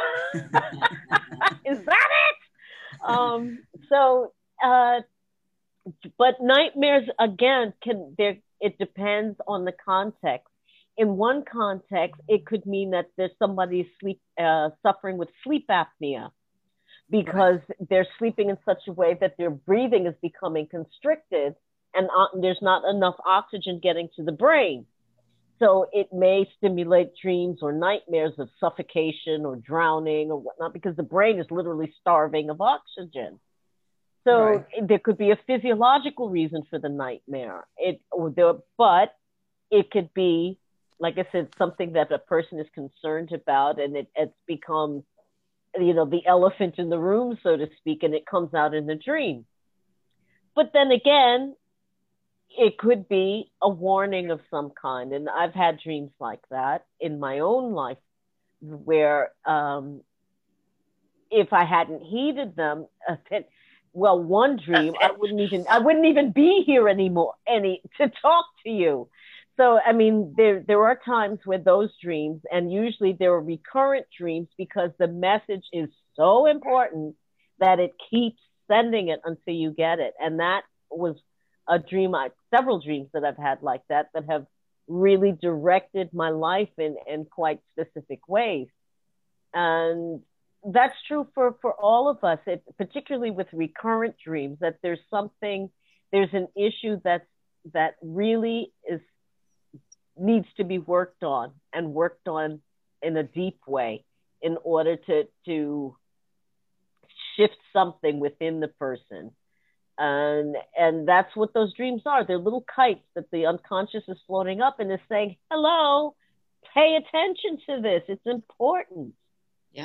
D: Is that it? Um, so, uh, but nightmares, again, can there. It depends on the context. In one context, it could mean that there's somebody sleep uh, suffering with sleep apnea, because they're sleeping in such a way that their breathing is becoming constricted and uh, there's not enough oxygen getting to the brain. So it may stimulate dreams or nightmares of suffocation or drowning or whatnot, because the brain is literally starving of oxygen. So right. there could be a physiological reason for the nightmare. It, or there, but it could be, like I said, something that a person is concerned about, and it, it's become, you know, the elephant in the room, so to speak, and it comes out in the dream. But then again, it could be a warning of some kind. And I've had dreams like that in my own life, where um, if I hadn't heeded them, uh, well, one dream, I wouldn't even, I wouldn't even be here anymore, any to talk to you. So, I mean, there, there are times where those dreams, and usually there are recurrent dreams, because the message is so important that it keeps sending it until you get it. And that was a dream, I, several dreams that I've had like that, that have really directed my life in, in quite specific ways. And that's true for, for all of us, it, particularly with recurrent dreams, that there's something, there's an issue that's, that really is needs to be worked on, and worked on in a deep way, in order to, to shift something within the person. And, and that's what those dreams are. They're little kites that the unconscious is floating up and is saying, hello, pay attention to this. It's important.
A: Yeah.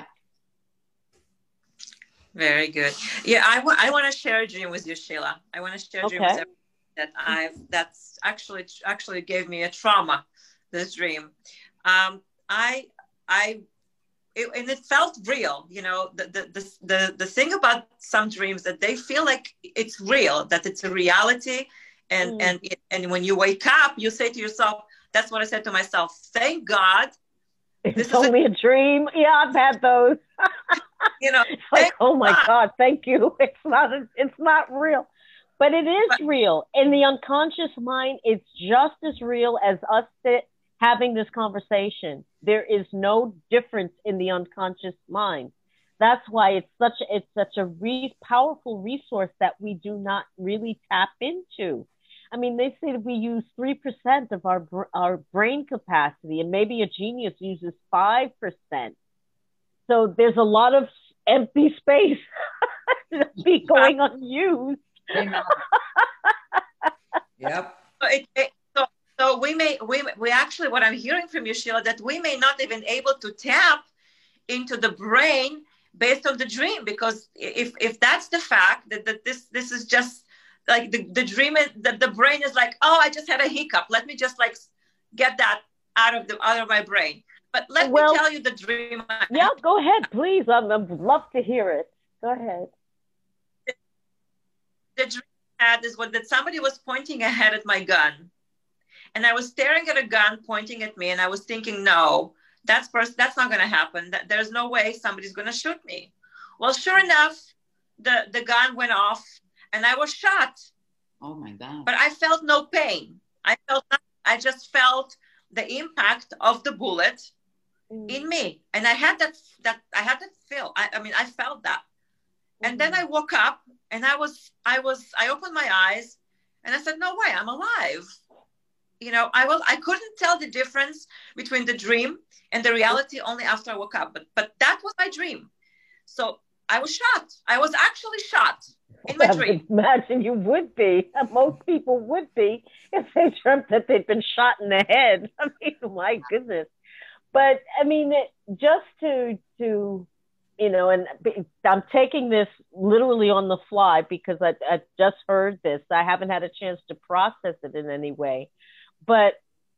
E: Very good. Yeah, I, wa- I want to share a dream with you, Sheila. I want to share a dream
D: okay.
E: with everyone. That I've that's actually actually gave me a trauma, this dream. Um, I I it, and it felt real. You know, the, the the the the thing about some dreams, that they feel like it's real, that it's a reality, and mm. and it, and when you wake up, you say to yourself, that's what I said to myself. Thank God,
D: it's only a, a dream. Yeah, I've had those.
E: You know,
D: it's like, oh my God. God, thank you. It's not a, it's not real. But it is but, real. In the unconscious mind, it's just as real as us sit, having this conversation. There is no difference in the unconscious mind. That's why it's such a, it's such a re- powerful resource that we do not really tap into. I mean, they say that we use three percent of our our brain capacity, and maybe a genius uses five percent. So there's a lot of empty space to be going unused.
B: Yep.
E: So, it, it, so, so we may, we, we actually, what I'm hearing from you, Sheila, that we may not even able to tap into the brain based on the dream, because if, if that's the fact that, that this, this is just like the, the dream is the, the brain is like, oh, I just had a hiccup. Let me just like get that out of the out of my brain. But let well, me tell you the dream.
D: Yeah, go ahead, please. I'd love to hear it. Go ahead.
E: The, the dream I had is what that somebody was pointing ahead at my gun. And I was staring at a gun pointing at me, and I was thinking, no, that's first, that's not going to happen. That, there's no way somebody's going to shoot me. Well, sure enough, the, the gun went off, and I was shot.
A: Oh my God! But
E: I felt no pain. I felt nothing. I just felt the impact of the bullet mm. in me, and I had that that I had that feel. I, I mean, I felt that, mm. and then I woke up, and I was I was I opened my eyes, and I said, no way, I'm alive. You know, I was I couldn't tell the difference between the dream and the reality only after I woke up. But but that was my dream. So I was shot. I was actually shot in my dream.
D: I imagine you would be. Most people would be if they dreamt that they'd been shot in the head. I mean, my goodness. But I mean, just to to you know, and I'm taking this literally on the fly because I I just heard this. I haven't had a chance to process it in any way. But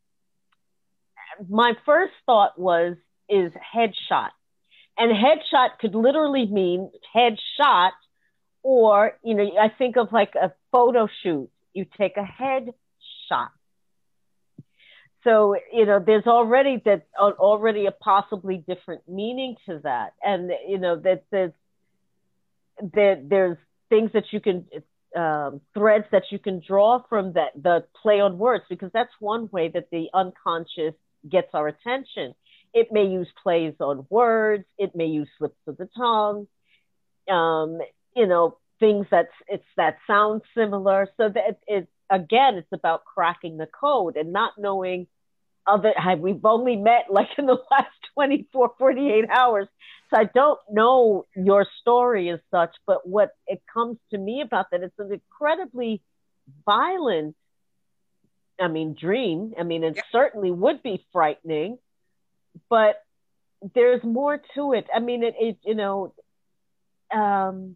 D: my first thought was, is headshot. And headshot could literally mean headshot, or, you know, I think of like a photo shoot. You take a headshot. So, you know, there's already that already a possibly different meaning to that. And, you know, that there's, that there's things that you can, um, threads that you can draw from that, the play on words, because that's one way that the unconscious gets our attention. It may use plays on words. It may use slips of the tongue. Um, you know, things that's it's that sound similar. So that it again, it's about cracking the code and not knowing other. We've only met like in the last twenty-four, forty-eight hours, so I don't know your story as such. But what it comes to me about that, it's an incredibly violent. I mean, dream. I mean, it yeah. certainly would be frightening, but there's more to it. I mean, it, it you know, um,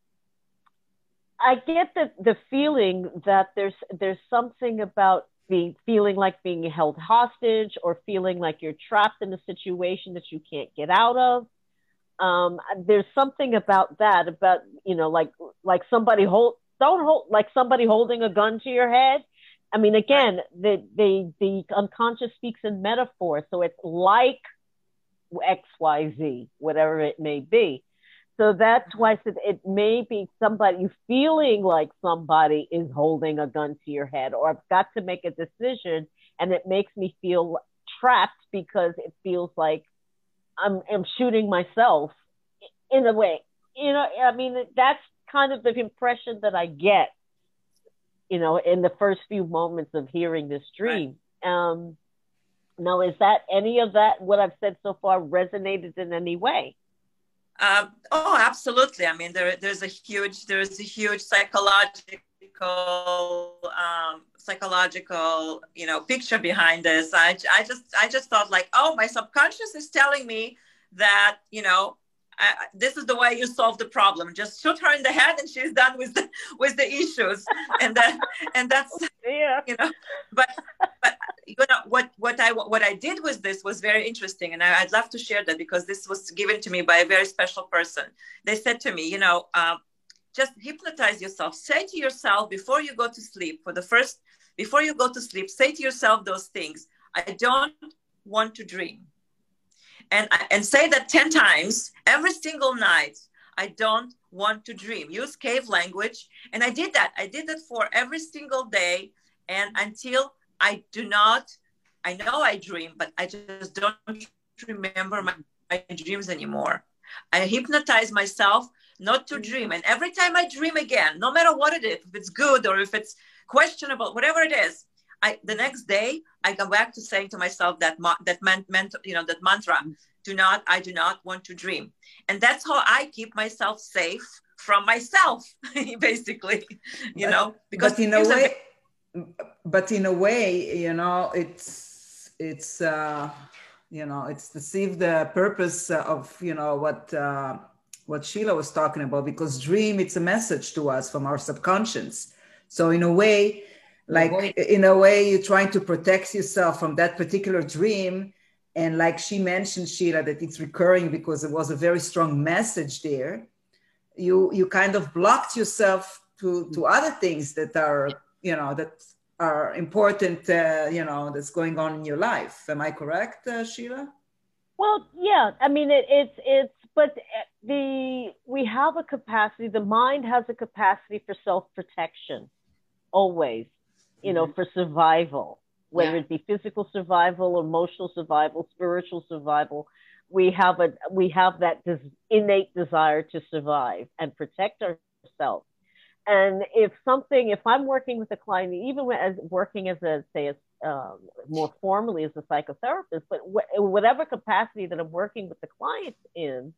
D: I get the, the feeling that there's, there's something about being, feeling like being held hostage or feeling like you're trapped in a situation that you can't get out of. Um, there's something about that, about, you know, like, like somebody hold, don't hold, like somebody holding a gun to your head. I mean, again, the, the, the unconscious speaks in metaphor. So it's like X, Y, Z, whatever it may be. So that's why I said it may be somebody, you feeling like somebody is holding a gun to your head, or I've got to make a decision and it makes me feel trapped because it feels like I'm, I'm shooting myself in a way. You know, I mean, that's kind of the impression that I get, you know, in the first few moments of hearing this dream. Right. Um, now, is that any of that, what I've said so far, resonated in any way?
E: Um, oh, absolutely. I mean, there, there's a huge, there's a huge psychological, um, psychological, you know, picture behind this. I, I just, I just thought like, oh, my subconscious is telling me that, you know, I, this is the way you solve the problem. Just shoot her in the head, and she's done with the with the issues. And that, and that's, yeah. you know. But but you know what what I what I did with this was very interesting, and I, I'd love to share that because this was given to me by a very special person. They said to me, you know, um, just hypnotize yourself. Say to yourself before you go to sleep, for the first before you go to sleep, say to yourself those things. I don't want to dream. And, and say that ten times every single night. I don't want to dream. Use cave language. And I did that. I did that for every single day. And until I do not, I know I dream, but I just don't remember my, my dreams anymore. I hypnotize myself not to dream. And every time I dream again, no matter what it is, if it's good or if it's questionable, whatever it is, I, the next day, I go back to saying to myself that that meant, meant you know that mantra: do not, I do not want to dream, and that's how I keep myself safe from myself, basically, you
B: but,
E: know. Because
B: but in a way, are... but in a way, you know, it's it's uh, you know it's to see the purpose of you know what uh, what Sheila was talking about, because dream, it's a message to us from our subconscious. So in a way, like
A: Avoid-
B: in a way, you're trying to protect yourself from that particular dream. And like she mentioned, Sheila, that it's recurring because it was a very strong message there. You you kind of blocked yourself to, to other things that are, you know, that are important, uh, you know, that's going on in your life. Am I correct, uh, Sheila?
D: Well, yeah. I mean, it, it's it's but the we have a capacity. The mind has a capacity for self-protection, always. You know, mm-hmm. for survival, whether yeah. it be physical survival, emotional survival, spiritual survival. We have a we have that des- innate desire to survive and protect ourselves. And if something, if I'm working with a client, even as working as a, say, as, um, more formally as a psychotherapist, but wh- whatever capacity that I'm working with the client in,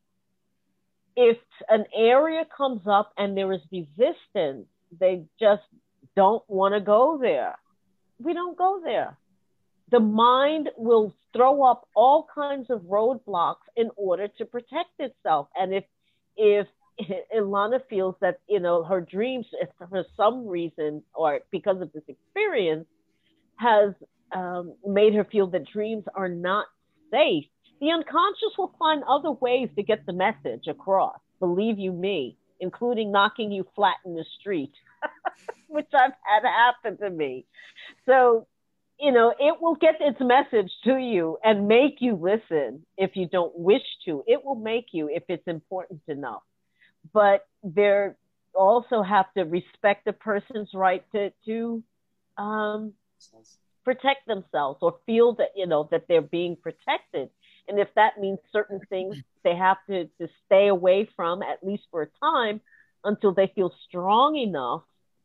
D: if an area comes up and there is resistance, they just don't want to go there. We don't go there. The mind will throw up all kinds of roadblocks in order to protect itself. And if, if, Ilana feels that, you know, her dreams, for some reason, or because of this experience, has um, made her feel that dreams are not safe, the unconscious will find other ways to get the message across, believe you me, including knocking you flat in the street, which I've had happen to me. So, you know, it will get its message to you and make you listen if you don't wish to. It will make you if it's important enough. But they also have to respect the person's right to to um, protect themselves or feel that, you know, that they're being protected. And if that means certain things they have to, to stay away from, at least for a time, until they feel strong enough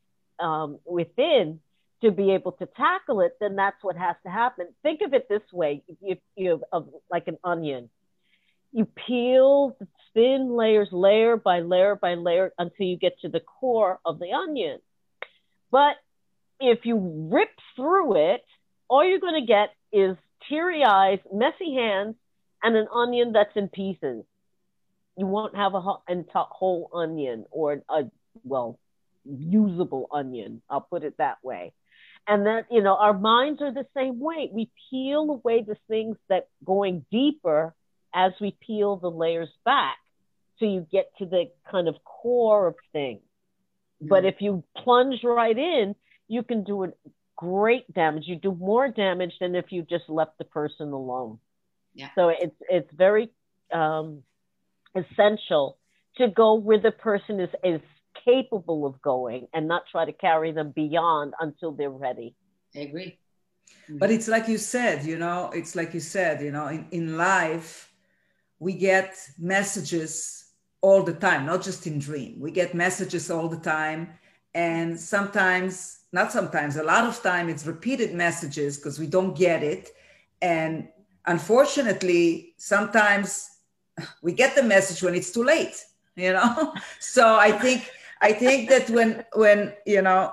D: um, within to be able to tackle it, then that's what has to happen. Think of it this way, if you have like an onion. You peel the thin layers, layer by layer by layer, until you get to the core of the onion. But if you rip through it, all you're going to get is teary eyes, messy hands, and an onion that's in pieces. You won't have a whole onion or a, well, usable onion. I'll put it that way. And that, you know, our minds are the same way. We peel away the things that going deeper as we peel the layers back, so you get to the kind of core of things. Mm-hmm. But if you plunge right in, you can do a great damage. You do more damage than if you just left the person alone.
A: Yeah.
D: So it's it's very um, essential to go where the person is is capable of going, and not try to carry them beyond until they're ready.
A: I agree. Mm-hmm.
B: But it's like you said, you know, it's like you said, you know, in, in life, we get messages all the time, not just in dream. We get messages all the time. And sometimes, not sometimes, a lot of time it's repeated messages because we don't get it. And unfortunately, sometimes we get the message when it's too late, you know? So I think, I think that when, when, you know,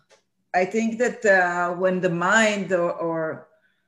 B: I think that uh, when the mind or, or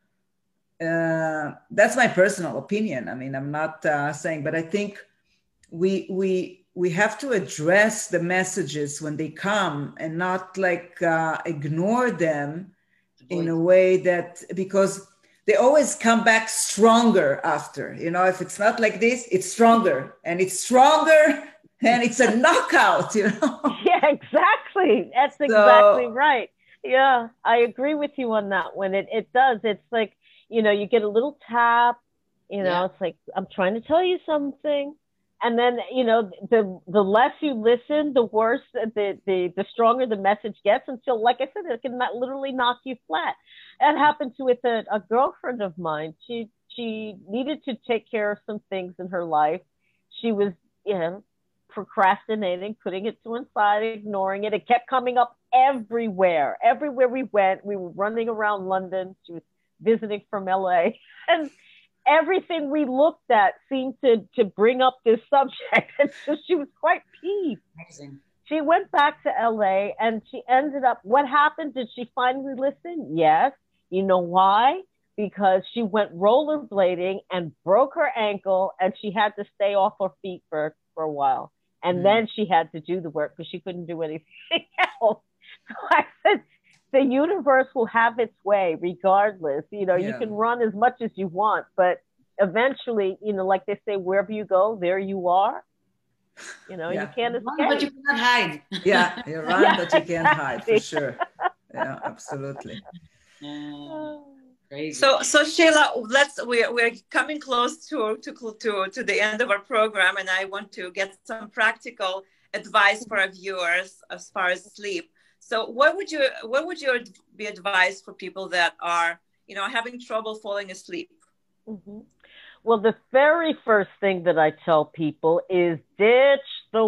B: Uh, that's my personal opinion. I mean, I'm not uh, saying, but I think we we we have to address the messages when they come and not like uh, ignore them in a way that, because they always come back stronger after. You know, if it's not like this, it's stronger and it's stronger and it's a knockout. You know.
D: Yeah, exactly. That's
B: So,
D: exactly right. Yeah, I agree with you on that one. It it does. It's like, you know, you get a little tap, you know, yeah. It's like, I'm trying to tell you something. And then, you know, the the less you listen, the worse, the, the, the stronger the message gets, until, like I said, it can literally knock you flat. That happened to with a, a girlfriend of mine. She, she needed to take care of some things in her life. She was, you know, procrastinating, putting it to one side, ignoring it. It kept coming up everywhere. Everywhere we went, we were running around London. She was visiting from L A, and everything we looked at seemed to to bring up this subject. And so she was quite peeved. Amazing. She went back to L A and she ended up, what happened? Did she finally listen? Yes. You know why? Because she went rollerblading and broke her ankle, and she had to stay off her feet for, for a while. And mm. then she had to do the work because she couldn't do anything else. I said, the universe will have its way regardless. You know, yeah. you can run as much as you want, but eventually, you know, like they say, wherever you go, there you are. You know, yeah. you can't escape.
A: Run, but you cannot hide.
B: Yeah, you run, yeah, but you can't exactly. hide, for sure. Yeah, absolutely.
A: Uh, crazy.
E: So, so Sheila, let's we're we're coming close to to to to the end of our program, and I want to get some practical advice for our viewers as far as sleep. So, what would you what would your be advice for people that are, you know, having trouble falling asleep?
D: Mm-hmm. Well, the very first thing that I tell people is ditch the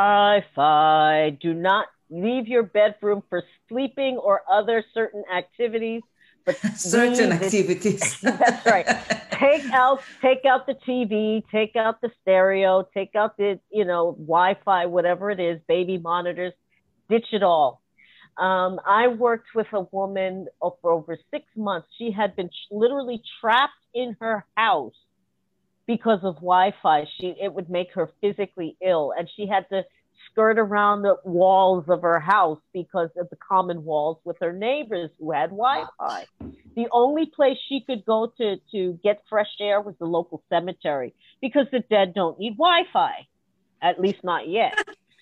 D: Wi-Fi. Do not leave your bedroom for sleeping or other certain activities. But
B: certain activities.
D: That's right. Take out, take out the T V, take out the stereo, take out the, you know, Wi-Fi, whatever it is, baby monitors, ditch it all. Um, I worked with a woman for over six months. She had been literally trapped in her house because of Wi-Fi. She, it would make her physically ill, and she had to skirt around the walls of her house because of the common walls with her neighbors who had Wi-Fi. The only place she could go to to get fresh air was the local cemetery, because the dead don't need Wi-Fi, at least not yet.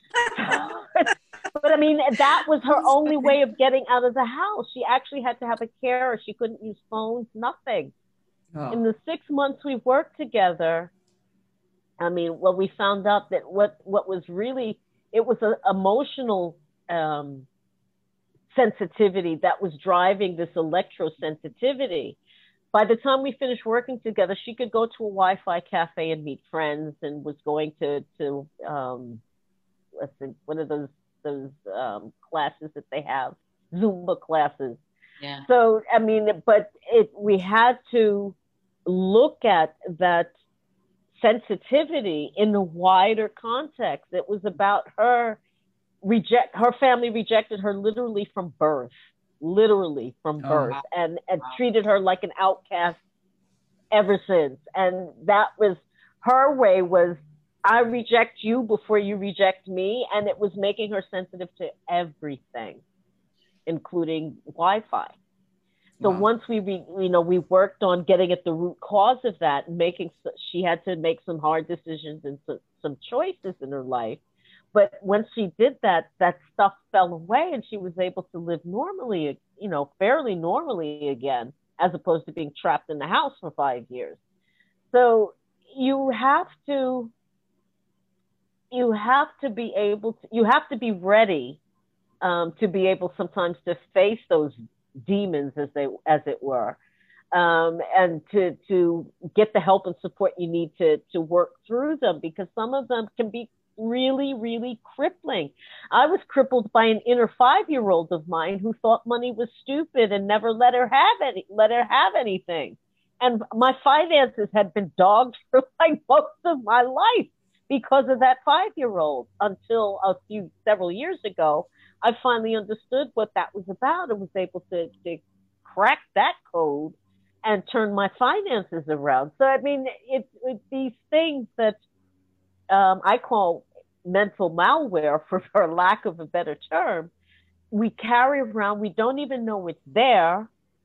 D: But I mean, that was her only way of getting out of the house. She actually had to have a carer. She couldn't use phones, nothing. Oh. In the six months we worked together, I mean, well, we found out that what, what was really, it was an emotional um, sensitivity that was driving this electrosensitivity. By the time we finished working together, she could go to a Wi-Fi cafe and meet friends, and was going to, to um, let's see, one of those, those um, classes that they have, Zumba classes.
A: Yeah.
D: So, I mean, but it, we had to look at that sensitivity in the wider context. It was about her reject, her family rejected her literally from birth, literally from birth, oh, wow. and, and wow. treated her like an outcast ever since. And that was her way, was, I reject you before you reject me. And it was making her sensitive to everything, including Wi-Fi. So wow. once we, re, you know, we worked on getting at the root cause of that, and making, she had to make some hard decisions and some, some choices in her life. But once she did that, that stuff fell away, and she was able to live normally, you know, fairly normally again, as opposed to being trapped in the house for five years. So you have to, you have to be able to, you have to be ready um, to be able sometimes to face those demons, as they, as it were, um, and to, to get the help and support you need to, to work through them, because some of them can be really, really crippling. I was crippled by an inner five-year-old of mine who thought money was stupid and never let her have any, let her have anything. And my finances had been dogged for like most of my life because of that five-year-old, until a few, several years ago, I finally understood what that was about and was able to, to crack that code and turn my finances around. So, I mean, it's it, these things that um, I call mental malware, for, for lack of a better term, we carry around. We don't even know it's there,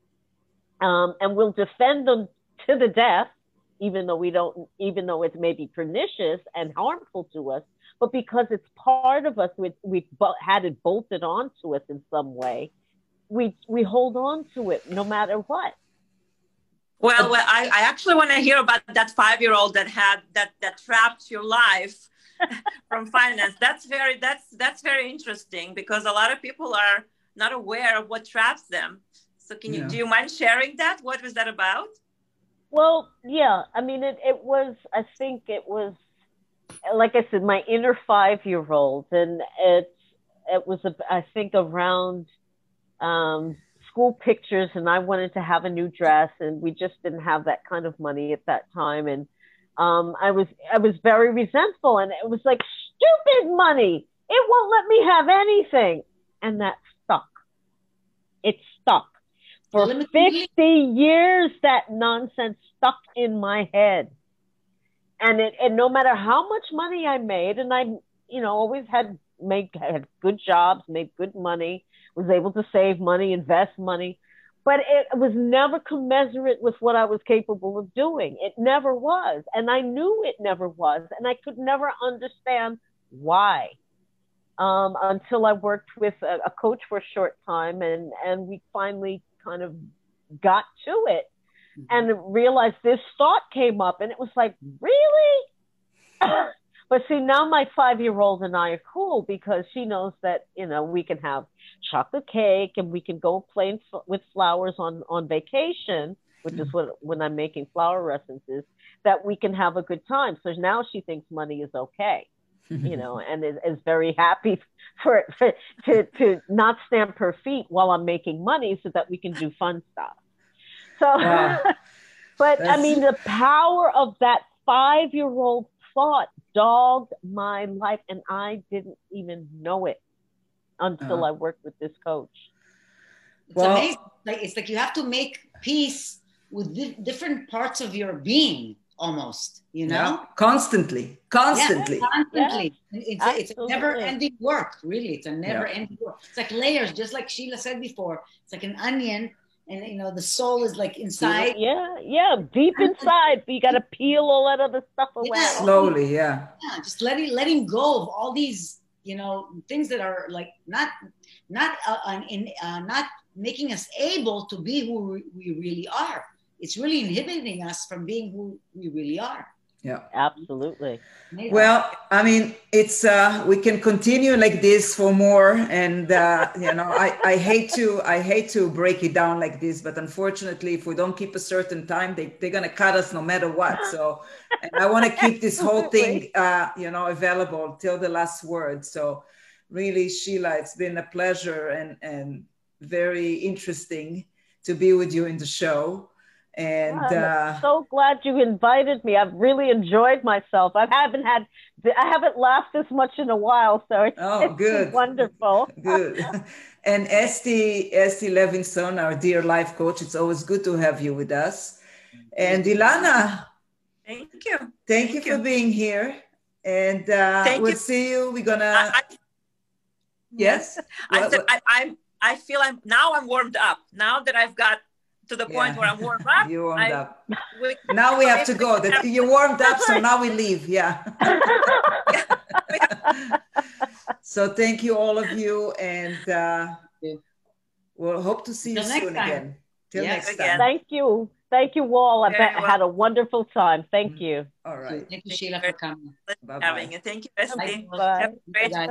D: um, and we'll defend them to the death, even though we don't, even though it may be pernicious and harmful to us. But because it's part of us, we, we've had it bolted onto us in some way, we we hold on to it no matter what.
E: Well, well I, I actually want to hear about that five-year-old that had that that trapped your life from finance. That's very that's that's very interesting, because a lot of people are not aware of what traps them. So can you yeah. do you mind sharing that? What was that about?
D: Well, yeah, I mean, it, it was, I think it was, like I said, my inner five-year-old, and it, it was, I think, around um, school pictures, and I wanted to have a new dress, and we just didn't have that kind of money at that time, and um, I was, I was very resentful, and it was like, stupid money, it won't let me have anything, and that stuck. It stuck. For fifty years, that nonsense stuck in my head. And it, and no matter how much money I made, and I, you know, always had made had good jobs, made good money, was able to save money, invest money, but it was never commensurate with what I was capable of doing. It never was. And I knew it never was. And I could never understand why. Um, until I worked with a, a coach for a short time, and, and we finally kind of got to it, mm-hmm. and realized this thought came up, and it was like, really? But see, now my five-year-old and I are cool because she knows that, you know, we can have chocolate cake and we can go play in, with flowers on, on vacation, which mm-hmm. is what, when I'm making flower essences, that we can have a good time. So now she thinks money is okay. You know, and is, is very happy for, for to to not stamp her feet while I'm making money, so that we can do fun stuff. So, wow. But That's... I mean, the power of that five-year-old thought dogged my life, and I didn't even know it until uh-huh. I worked with this coach.
A: It's well, amazing. Like it's like you have to make peace with di- different parts of your being. Almost, you know,
B: yeah. constantly, constantly,
A: yeah, constantly. Yeah. It's, it's a never-ending work, really. It's a never-ending yeah. work. It's like layers, just like Sheila said before. It's like an onion, and you know, the soul is like inside.
D: Yeah, yeah, deep inside. But you got to peel all that other stuff away.
B: Yeah. Slowly, yeah.
A: Yeah, just letting letting go of all these, you know, things that are like not not uh, in uh, not making us able to be who we, we really are. It's really inhibiting us from being who we really are.
B: Yeah,
D: absolutely.
B: Well, I mean, it's uh, we can continue like this for more, and uh, you know, I, I hate to I hate to break it down like this, but unfortunately, if we don't keep a certain time, they they're gonna cut us no matter what. So, and I want to keep this whole thing, uh, you know, available till the last word. So, really, Sheila, it's been a pleasure and and very interesting to be with you in the show. And
D: I'm
B: uh,
D: so glad you invited me. I've really enjoyed myself. I haven't had, I haven't laughed this much in a while, so it's,
B: oh,
D: it's
B: good,
D: wonderful.
B: Good. And Esti, Esti Levinson, our dear life coach, it's always good to have you with us. And Ilana,
E: thank you,
B: thank,
E: thank
B: you,
E: you
B: for being here. And uh, we'll you. see you. We're gonna. I, I, yes,
E: I
B: well,
E: said I, I'm. I feel I'm now. I'm warmed up now that I've got to the point yeah. where I'm warmed up.
B: You warmed I, up.
E: We,
B: now we have to go. That you warmed up, so now we leave. Yeah. So thank you, all of you, and uh, we'll hope to see you
A: Till
B: soon again. Till
A: yes.
B: next time.
D: Thank you. Thank you all. I bet I had a wonderful time. Thank you.
B: All right.
A: Thank you, Sheila, for coming.
B: Bye-bye.
E: Having it. Thank you, Esti.
D: Bye.
E: Have a great